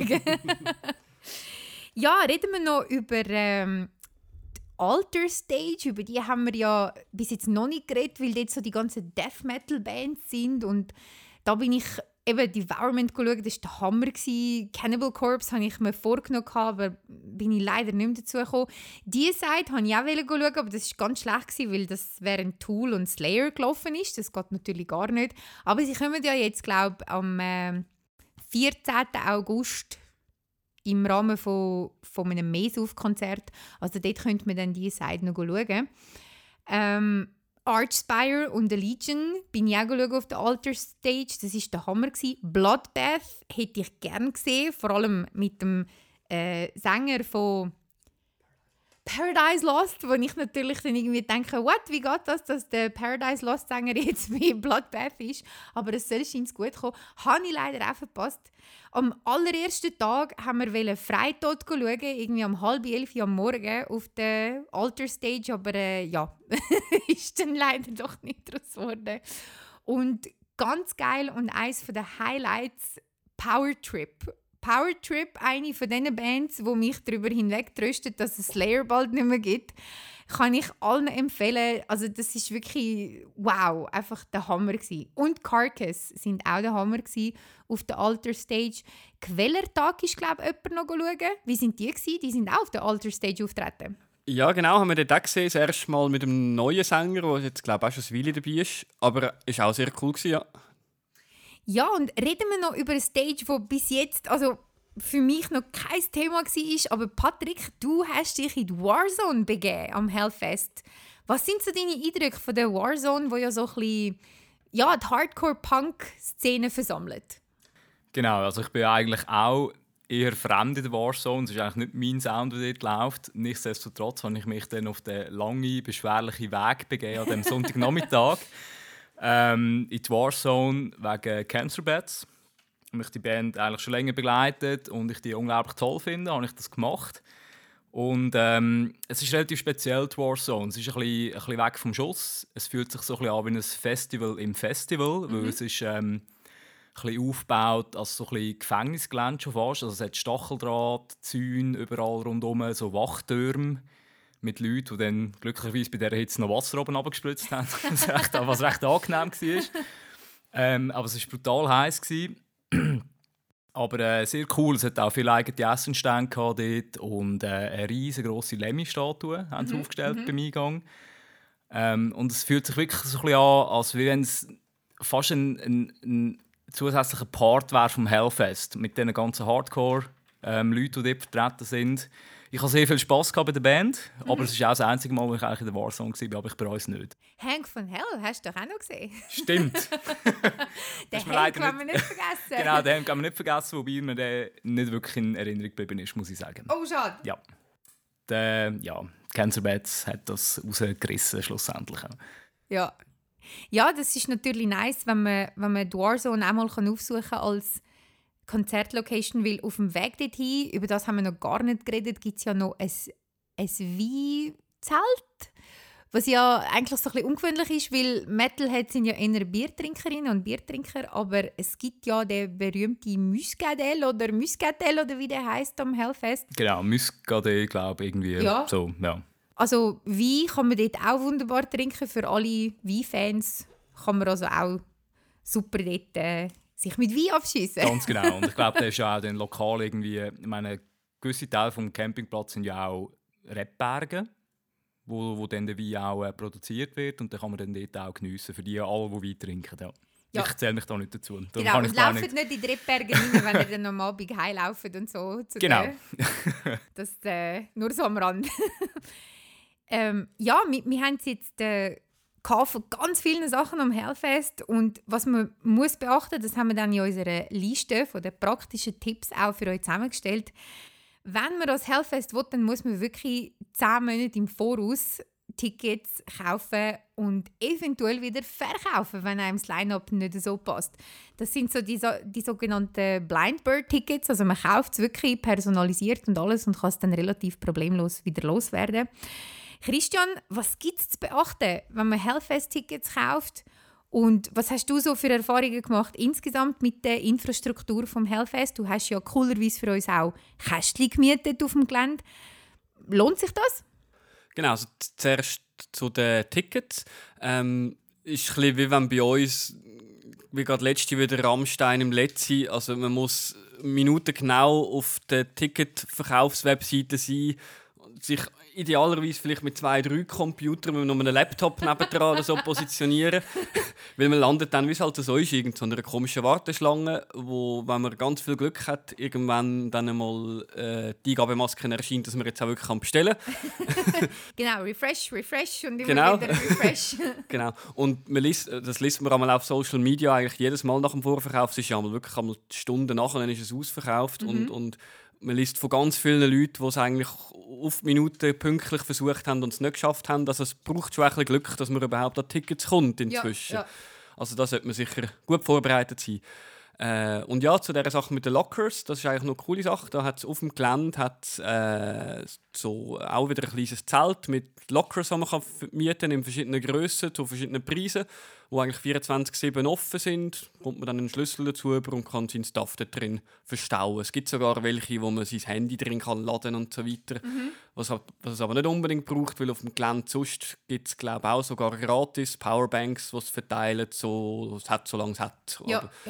Ja, reden wir noch über die Alter Stage. Über die haben wir ja bis jetzt noch nicht geredet, weil dort so die ganzen Death Metal Bands sind, und da bin ich eben Devourment geschaut, das war der Hammer. Cannibal Corpse habe ich mir vorgenommen, aber bin ich leider nicht mehr dazu gekommen. Die Seite wollte ich auch schauen, aber das war ganz schlecht, weil das während Tool und Slayer gelaufen ist. Das geht natürlich gar nicht. Aber sie kommen ja jetzt, glaube ich, am 14. August im Rahmen von einem Mesauf-Konzert. Also dort könnte man dann diese Seite noch schauen. Archspire und The Legion bin ich auch auf der Alter Stage. Das war der Hammer. Bloodbath hätte ich gerne gesehen, vor allem mit dem Sänger von Paradise Lost, wo ich natürlich dann irgendwie denke, wie geht das, dass der Paradise Lost Sänger jetzt bei Bloodbath ist? Aber es soll scheint gut kommen. Habe ich leider auch verpasst. Am allerersten Tag haben wir Freitod schauen, irgendwie um 10:30 am Morgen auf der Alter Stage, aber ja, ist dann leider doch nicht draus geworden. Und ganz geil und eines der Highlights, Power Trip. Power Trip, eine von diesen Bands, die mich darüber hinwegtröstet, dass es Slayer bald nicht mehr gibt, kann ich allen empfehlen. Also das ist wirklich, wow, einfach der Hammer gewesen. Und Carcass sind auch der Hammer gewesen auf der Alter Stage. Quellertag ist, glaube ich, jemand noch schauen. Wie sind die gewesen? Die sind auch auf der Alter Stage auftreten. Ja, genau, haben wir dort auch gesehen. Das erste Mal mit einem neuen Sänger, der jetzt, glaube ich, auch schon eine Weile dabei ist. Aber es war auch sehr cool gewesen, ja. Ja, und reden wir noch über eine Stage, die bis jetzt, also für mich noch kein Thema war. Aber Patrick, du hast dich in die Warzone begeben am Hellfest. Was sind so deine Eindrücke von der Warzone, wo ja so ein bisschen, ja, die Hardcore-Punk-Szene versammelt? Genau, also ich bin eigentlich auch eher fremd in der Warzone. Es ist eigentlich nicht mein Sound, der dort läuft. Nichtsdestotrotz habe ich mich dann auf den langen, beschwerlichen Weg begeben an diesem Sonntagnachmittag. In die Warzone wegen Cancer Bats. Mich die Band eigentlich schon länger begleitet und ich die unglaublich toll finde, habe ich das gemacht. Und es ist relativ speziell, die Warzone. Es ist ein bisschen weg vom Schuss. Es fühlt sich so ein bisschen an wie ein Festival im Festival, weil es ist ein bisschen aufgebaut als so ein bisschen Gefängnisgelände schon fast. Also es hat Stacheldraht, Zäune überall rundherum, so Wachtürme mit Leuten, die dann glücklicherweise bei dieser Hitze noch Wasser oben runtergespritzt haben, was recht angenehm war. Aber es war brutal heiß. Aber sehr cool, es hat auch viele eigene Essenstände dort und eine riesengroße Lemmy-Statue haben sie aufgestellt beim Eingang. Und es fühlt sich wirklich so ein bisschen an, als wenn es fast ein zusätzlicher Part wäre vom Hellfest mit diesen ganzen Hardcore-Leuten, die dort vertreten sind. Ich hatte sehr viel Spass bei der Band, aber es ist auch das einzige Mal, wo ich eigentlich in der Warzone war, aber ich bereue es nicht. Hank von Hell hast du doch auch noch gesehen. Stimmt. Den Hank kann man nicht vergessen. Genau, den kann man nicht vergessen, wobei mir der nicht wirklich in Erinnerung geblieben ist, muss ich sagen. Oh, schade. Ja. Cancer Bats hat das rausgerissen, schlussendlich. Ja. Ja, das ist natürlich nice, wenn man die Warzone auch mal aufsuchen kann als Konzertlocation, weil auf dem Weg dorthin, über das haben wir noch gar nicht geredet, gibt es ja noch ein Weinzelt, was ja eigentlich so ein bisschen ungewöhnlich ist, weil Metalheads sind ja eher Biertrinkerinnen und Biertrinker, aber es gibt ja den berühmten Muscadet oder wie der heisst am Hellfest. Genau, Muscadet, glaube ich, irgendwie. Ja. So, ja. Also Wein kann man dort auch wunderbar trinken, für alle Weinfans kann man also auch super dort sich mit Wein abschiessen. Ganz genau. Und ich glaube, der ist ja auch dann lokal irgendwie. Ich meine, gewisse Teile vom Campingplatz sind ja auch Rebberge, wo dann der Wein auch produziert wird. Und dann kann man dann dort auch geniessen, für die alle, die Wein trinken. Ja. Ja. Ich zähle mich da nicht dazu. Genau, und laufen nicht in die Rebberge rein, wenn ihr dann am Abend heimlaufen und so. Genau. Das nur so am Rand. Ja, wir haben es jetzt von ganz vielen Sachen am Hellfest. Und was man muss beachten, das haben wir dann in unserer Liste von den praktischen Tipps auch für euch zusammengestellt. Wenn man das Hellfest will, dann muss man wirklich 10 Monate im Voraus Tickets kaufen und eventuell wieder verkaufen, wenn einem das Line-Up nicht so passt. Das sind so die sogenannten Blind Bird Tickets, also man kauft es wirklich personalisiert und alles und kann es dann relativ problemlos wieder loswerden. Christian, was gibt es zu beachten, wenn man Hellfest-Tickets kauft? Und was hast du so für Erfahrungen gemacht insgesamt mit der Infrastruktur vom Hellfest? Du hast ja coolerweise für uns auch Kästchen gemietet auf dem Gelände. Lohnt sich das? Genau, also zuerst zu den Tickets. Ist ein bisschen wie wenn bei uns, wie gerade letzte wieder Rammstein im Letzi, also man muss minutengenau auf der Ticketverkaufswebseite sein, sich idealerweise vielleicht mit 2-3 Computern mit einem Laptop nebendran oder so positionieren. Weil man landet dann, wie es halt so ist, in so einer komischen Warteschlange, wo, wenn man ganz viel Glück hat, irgendwann dann einmal die Eingabemasken erscheint, dass man jetzt auch wirklich bestellen kann. Genau, refresh und immer Genau. wieder refresh. Genau. Und das liest man einmal auf Social Media eigentlich jedes Mal nach dem Vorverkauf. Es ist ja einmal wirklich einmal Stunden nachher, dann ist es ausverkauft. Und man liest von ganz vielen Leuten, die es eigentlich auf die Minute pünktlich versucht haben und es nicht geschafft haben. Also es braucht schon ein bisschen Glück, dass man überhaupt an Tickets kommt inzwischen. Ja. Also da sollte man sicher gut vorbereitet sein. Und ja, zu dieser Sache mit den Lockers, das ist eigentlich noch eine coole Sache. Da hat es auf dem Gelände so auch wieder ein kleines Zelt mit Lockers, die man mieten kann in verschiedenen Grössen, zu verschiedenen Preisen, die eigentlich 24/7 offen sind. Da kommt man dann einen Schlüssel dazu über und kann seinen Stuff da drin verstauen. Es gibt sogar welche, wo man sein Handy drin kann laden und so weiter. Was es aber nicht unbedingt braucht, weil auf dem Gelände sonst gibt es, glaube ich, auch sogar gratis Powerbanks, die es verteilen, solange es hat.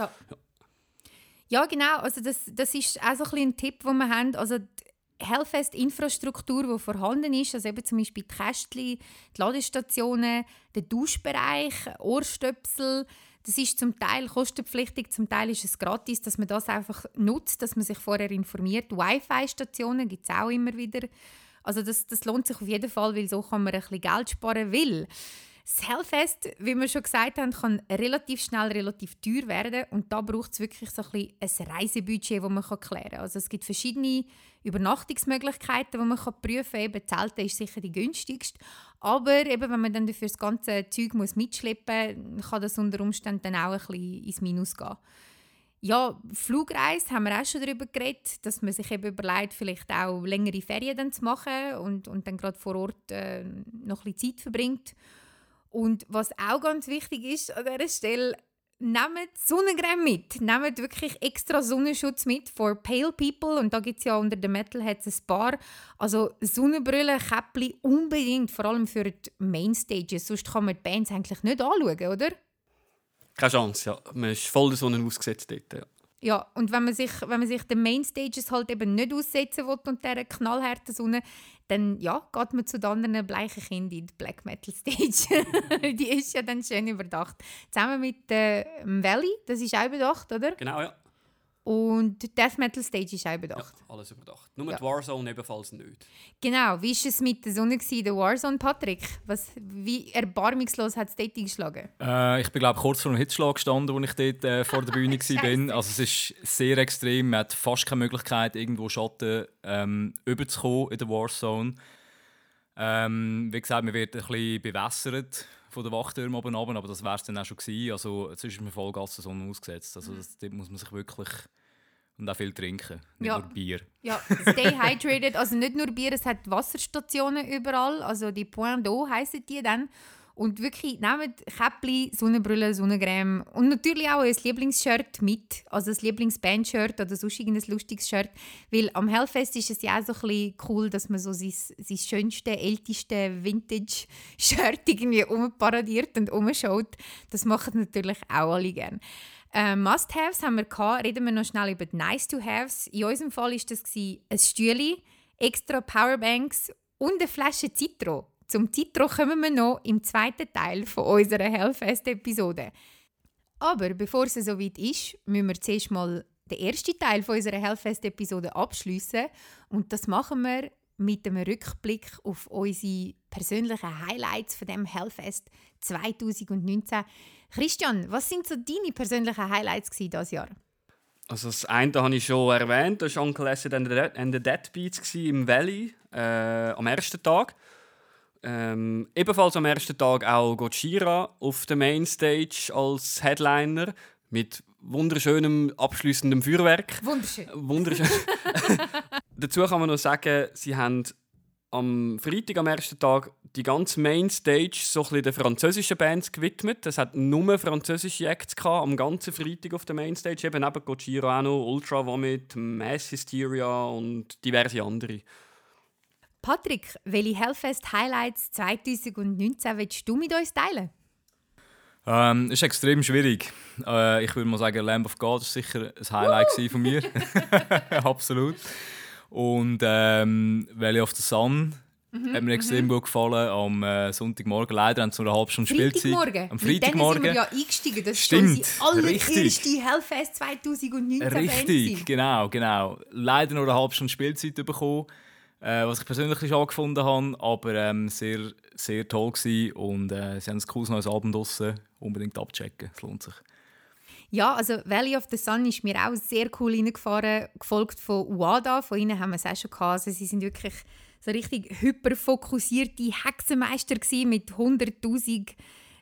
Ja, genau. Also das ist auch so ein bisschen ein Tipp, den wir haben. Also die Hellfest-Infrastruktur, die vorhanden ist, also eben zum Beispiel die Kästchen, die Ladestationen, der Duschbereich, Ohrstöpsel, das ist zum Teil kostenpflichtig, zum Teil ist es gratis, dass man das einfach nutzt, dass man sich vorher informiert. Wi-Fi-Stationen gibt es auch immer wieder. Also das lohnt sich auf jeden Fall, weil so kann man ein bisschen Geld sparen. Weil das Hellfest, wie wir schon gesagt haben, kann relativ schnell relativ teuer werden und da braucht es wirklich so ein Reisebudget, das man klären kann. Also es gibt verschiedene Übernachtungsmöglichkeiten, die man prüfen kann. Eben Zelten ist sicher die günstigste, aber eben, wenn man dann dafür das ganze Zeug mitschleppen muss, kann das unter Umständen dann auch ein bisschen ins Minus gehen. Ja, Flugreise haben wir auch schon darüber geredet, dass man sich eben überlegt, vielleicht auch längere Ferien dann zu machen und dann gerade vor Ort noch ein bisschen Zeit verbringt. Und was auch ganz wichtig ist an dieser Stelle, nehmt Sonnencreme mit. Nehmt wirklich extra Sonnenschutz mit for pale people. Und da gibt es ja unter den Metalheads ein paar. Also Sonnenbrille, Käppli unbedingt, vor allem für die Mainstages. Sonst kann man die Bands eigentlich nicht anschauen, oder? Keine Chance, ja. Man ist voll der Sonne ausgesetzt dort, ja. Ja, und wenn man sich den Mainstages halt eben nicht aussetzen will und dieser knallharten Sonne, dann ja, geht man zu den anderen bleichen Kindern in die Black Metal Stage. Die ist ja dann schön überdacht. Zusammen mit Valley, das ist auch überdacht, oder? Genau, ja. Und die Death Metal Stage ist auch überdacht. Ja, alles überdacht. Nur die Warzone ebenfalls nicht. Genau, wie war es mit der Sonne, der Warzone, Patrick? Wie erbarmungslos hat es dort eingeschlagen? Ich bin, glaube kurz vor dem Hitzschlag gestanden, als ich dort vor der Bühne war. Also es ist sehr extrem. Man hat fast keine Möglichkeit, irgendwo Schatten überzukommen in der Warzone. Wie gesagt, man wird ein bisschen bewässert von den Wachtürmen oben runter, aber das wäre es dann auch schon gewesen. Also jetzt ist man Vollgas der Sonne ausgesetzt. Also dort muss man sich wirklich und auch viel trinken, nicht nur Bier. Ja, stay hydrated. Also nicht nur Bier, es hat Wasserstationen überall. Also die Point d'eau heissen die dann. Und wirklich, nehmt Käppli, Sonnenbrille, Sonnencreme und natürlich auch ein Lieblingsshirt mit. Also ein Lieblingsband-Shirt oder sonst irgendein lustiges Shirt. Weil am Hellfest ist es ja auch so ein bisschen cool, dass man so sein schönste, älteste Vintage-Shirt irgendwie umparadiert und umschaut. Das machen natürlich auch alle gerne. Must-Haves haben wir gehabt. Reden wir noch schnell über die Nice-to-Haves. In unserem Fall war das ein Stühle, extra Powerbanks und eine Flasche Citro. Zum Citro kommen wir noch im zweiten Teil von unserer Hellfest-Episode. Aber bevor es soweit ist, müssen wir zuerst mal den ersten Teil von unserer Hellfest-Episode abschliessen. Und das machen wir mit einem Rückblick auf unsere persönlichen Highlights von dem Hellfest 2019. Christian, was sind so deine persönlichen Highlights dieses Jahr? Also das eine habe ich schon erwähnt, das war Uncle Acid and the Deadbeats im Valley am ersten Tag. Ebenfalls am ersten Tag auch Gojira auf der Mainstage als Headliner mit wunderschönem abschliessendem Feuerwerk. Wunderschön. Dazu kann man noch sagen, sie haben am Freitag, am ersten Tag, die ganze Mainstage so ein bisschen den französischen Bands gewidmet. Es hat nur französische Acts gehabt, am ganzen Freitag auf der Mainstage. Eben neben Gojira auch noch Ultra Vomit, Mass Hysteria und diverse andere. Patrick, welche Hellfest-Highlights 2019 willst du mit uns teilen? Es ist extrem schwierig. Ich würde mal sagen, Lamb of God war sicher ein Highlight von mir. Absolut. Und Valley of the Sun hat mir extrem gut gefallen am Sonntagmorgen. Leider haben sie nur eine halbe Stunde Spielzeit. Freitagmorgen. Am Freitagmorgen. Mit denen sind wir ja eingestiegen. Das Stimmt, ist unsere allererste Hellfest 2019 Richtig, genau. Leider nur eine halbe Stunde Spielzeit bekommen. Was ich persönlich schon angefunden habe, aber sehr, sehr toll gewesen. Und sie haben ein cooles neues Album draussen. Unbedingt abchecken, es lohnt sich. Ja, also Valley of the Sun ist mir auch sehr cool reingefahren, gefolgt von Uada. Von ihnen haben wir es auch schon gehabt. Also sie sind wirklich so richtig hyperfokussierte Hexenmeister gewesen, mit 100'000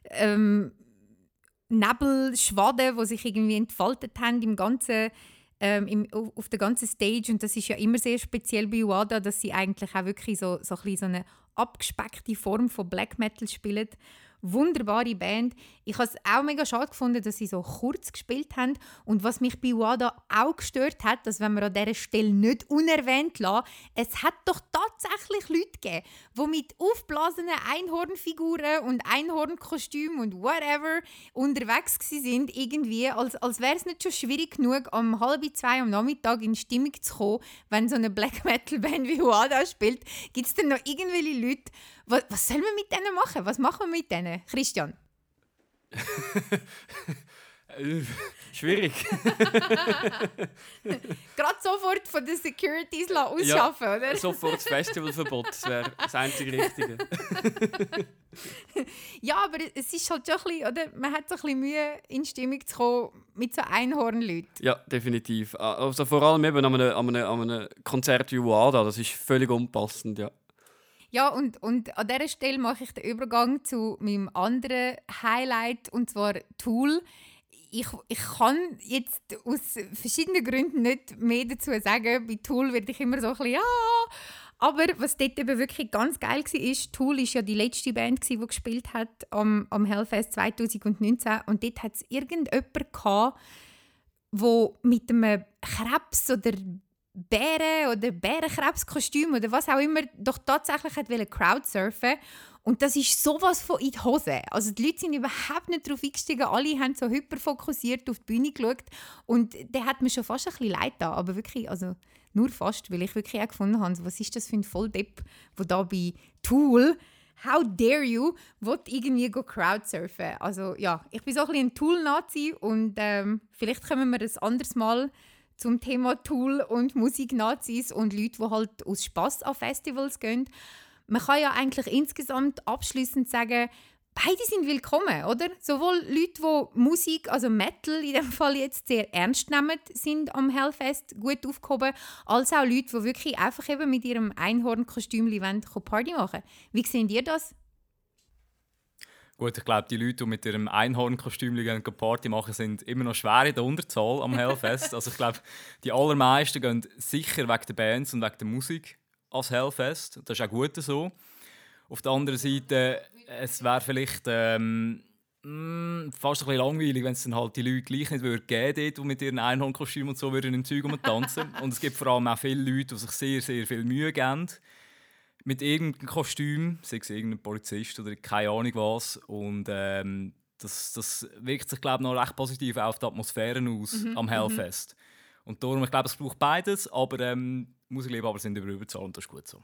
Nebelschwaden, die sich irgendwie entfaltet haben im ganzen auf der ganzen Stage. Und das ist ja immer sehr speziell bei Uada, dass sie eigentlich auch wirklich so eine abgespeckte Form von Black Metal spielen. Wunderbare Band. Ich habe es auch mega schade gefunden, dass sie so kurz gespielt haben. Und was mich bei Uada auch gestört hat, dass wenn wir an dieser Stelle nicht unerwähnt lassen, es hat doch tatsächlich Leute gegeben, die mit aufblasenen Einhornfiguren und Einhornkostümen und whatever unterwegs waren, irgendwie, als wäre es nicht schon schwierig genug, um 1:30 am Nachmittag in Stimmung zu kommen, wenn so eine Black Metal Band wie Uada spielt. Gibt es denn noch irgendwelche Leute, was sollen wir mit denen machen? Was machen wir mit denen? Christian? Schwierig. Gerade sofort von den Securities ausschaffen, ja, oder? Sofort das Festivalverbot, das wäre das einzige Richtige. Ja, aber es ist halt schon ein bisschen, oder? Man hat so ein bisschen Mühe, in Stimmung zu kommen mit so Einhornleuten. Ja, definitiv. Also vor allem eben an einem Konzert wie Uada, das ist völlig unpassend, ja. Ja, und an dieser Stelle mache ich den Übergang zu meinem anderen Highlight, und zwar Tool. Ich kann jetzt aus verschiedenen Gründen nicht mehr dazu sagen. Bei Tool werde ich immer so ein bisschen «ja». Aber was dort eben wirklich ganz geil war, Tool war ja die letzte Band, die gespielt hat am Hellfest 2019. Und dort hat es irgendjemanden gehabt, der mit einem Krebs oder Bären- oder Bärenkrebskostüm oder was auch immer doch tatsächlich Crowdsurfen. Und das ist sowas von in die Hose. Also die Leute sind überhaupt nicht darauf eingestiegen. Alle haben so hyperfokussiert auf die Bühne geschaut. Und der hat mir schon fast ein bisschen leid getan. Aber wirklich, also nur fast, weil ich wirklich auch gefunden habe, was ist das für ein Volldepp, der da bei Tool, how dare you, will irgendwie Crowdsurfen. Also ja, ich bin so ein bisschen ein Tool-Nazi und vielleicht kommen wir ein anderes Mal zum Thema Tool und Musik-Nazis und Leute, die halt aus Spass an Festivals gehen. Man kann ja eigentlich insgesamt abschliessend sagen, beide sind willkommen, oder? Sowohl Leute, die Musik, also Metal in dem Fall jetzt sehr ernst nehmen, sind am Hellfest gut aufgehoben, als auch Leute, die wirklich einfach eben mit ihrem Einhornkostüm Party machen. Wie seht ihr das? Gut, ich glaube, die Leute, die mit ihrem Einhornkostüm Party machen, sind immer noch schwer in der Unterzahl am Hellfest. Also ich glaube, die allermeisten gehen sicher wegen der Bands und wegen der Musik ans Hellfest. Das ist auch gut so. Auf der anderen Seite, es wäre vielleicht fast ein bisschen langweilig, wenn es dann halt die Leute gleich nicht geben würde, die mit ihren Einhornkostümen und so im Zeug tanzen. Und es gibt vor allem auch viele Leute, die sich sehr, sehr viel Mühe geben mit irgendeinem Kostüm, sei es irgendein Polizist oder keine Ahnung was. Und das wirkt sich, glaube ich, noch recht positiv auf die Atmosphäre aus am Hellfest. Und darum, ich glaube, es braucht beides, aber Musikliebhaber sind überzahlt und das ist gut so.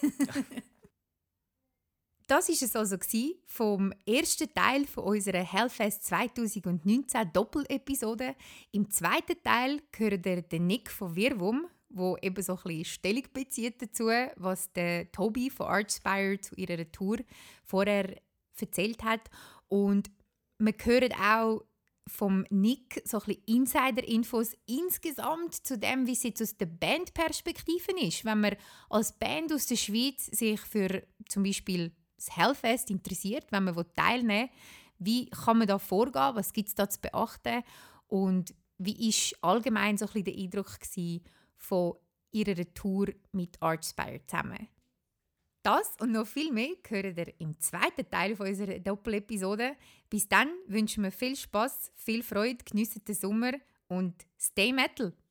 Das war es also vom ersten Teil von unserer Hellfest 2019 Doppel-Episode. Im zweiten Teil hört ihr den Nick von Wirwum, wo eben so ein bisschen Stellung bezieht dazu, was der Toby von Archspire zu ihrer Tour vorher erzählt hat. Und wir hören auch vom Nick so ein bisschen Insider-Infos insgesamt zu dem, wie es jetzt aus der Bandperspektive ist. Wenn man als Band aus der Schweiz sich für zum Beispiel das Hellfest interessiert, wenn man teilnehmen will, wie kann man da vorgehen, was gibt es da zu beachten und wie war allgemein so ein bisschen der Eindruck von ihrer Tour mit Archspire zusammen. Das und noch viel mehr hören ihr im zweiten Teil von unserer Doppel-Episode. Bis dann wünschen wir viel Spass, viel Freude, geniessen den Sommer und stay metal!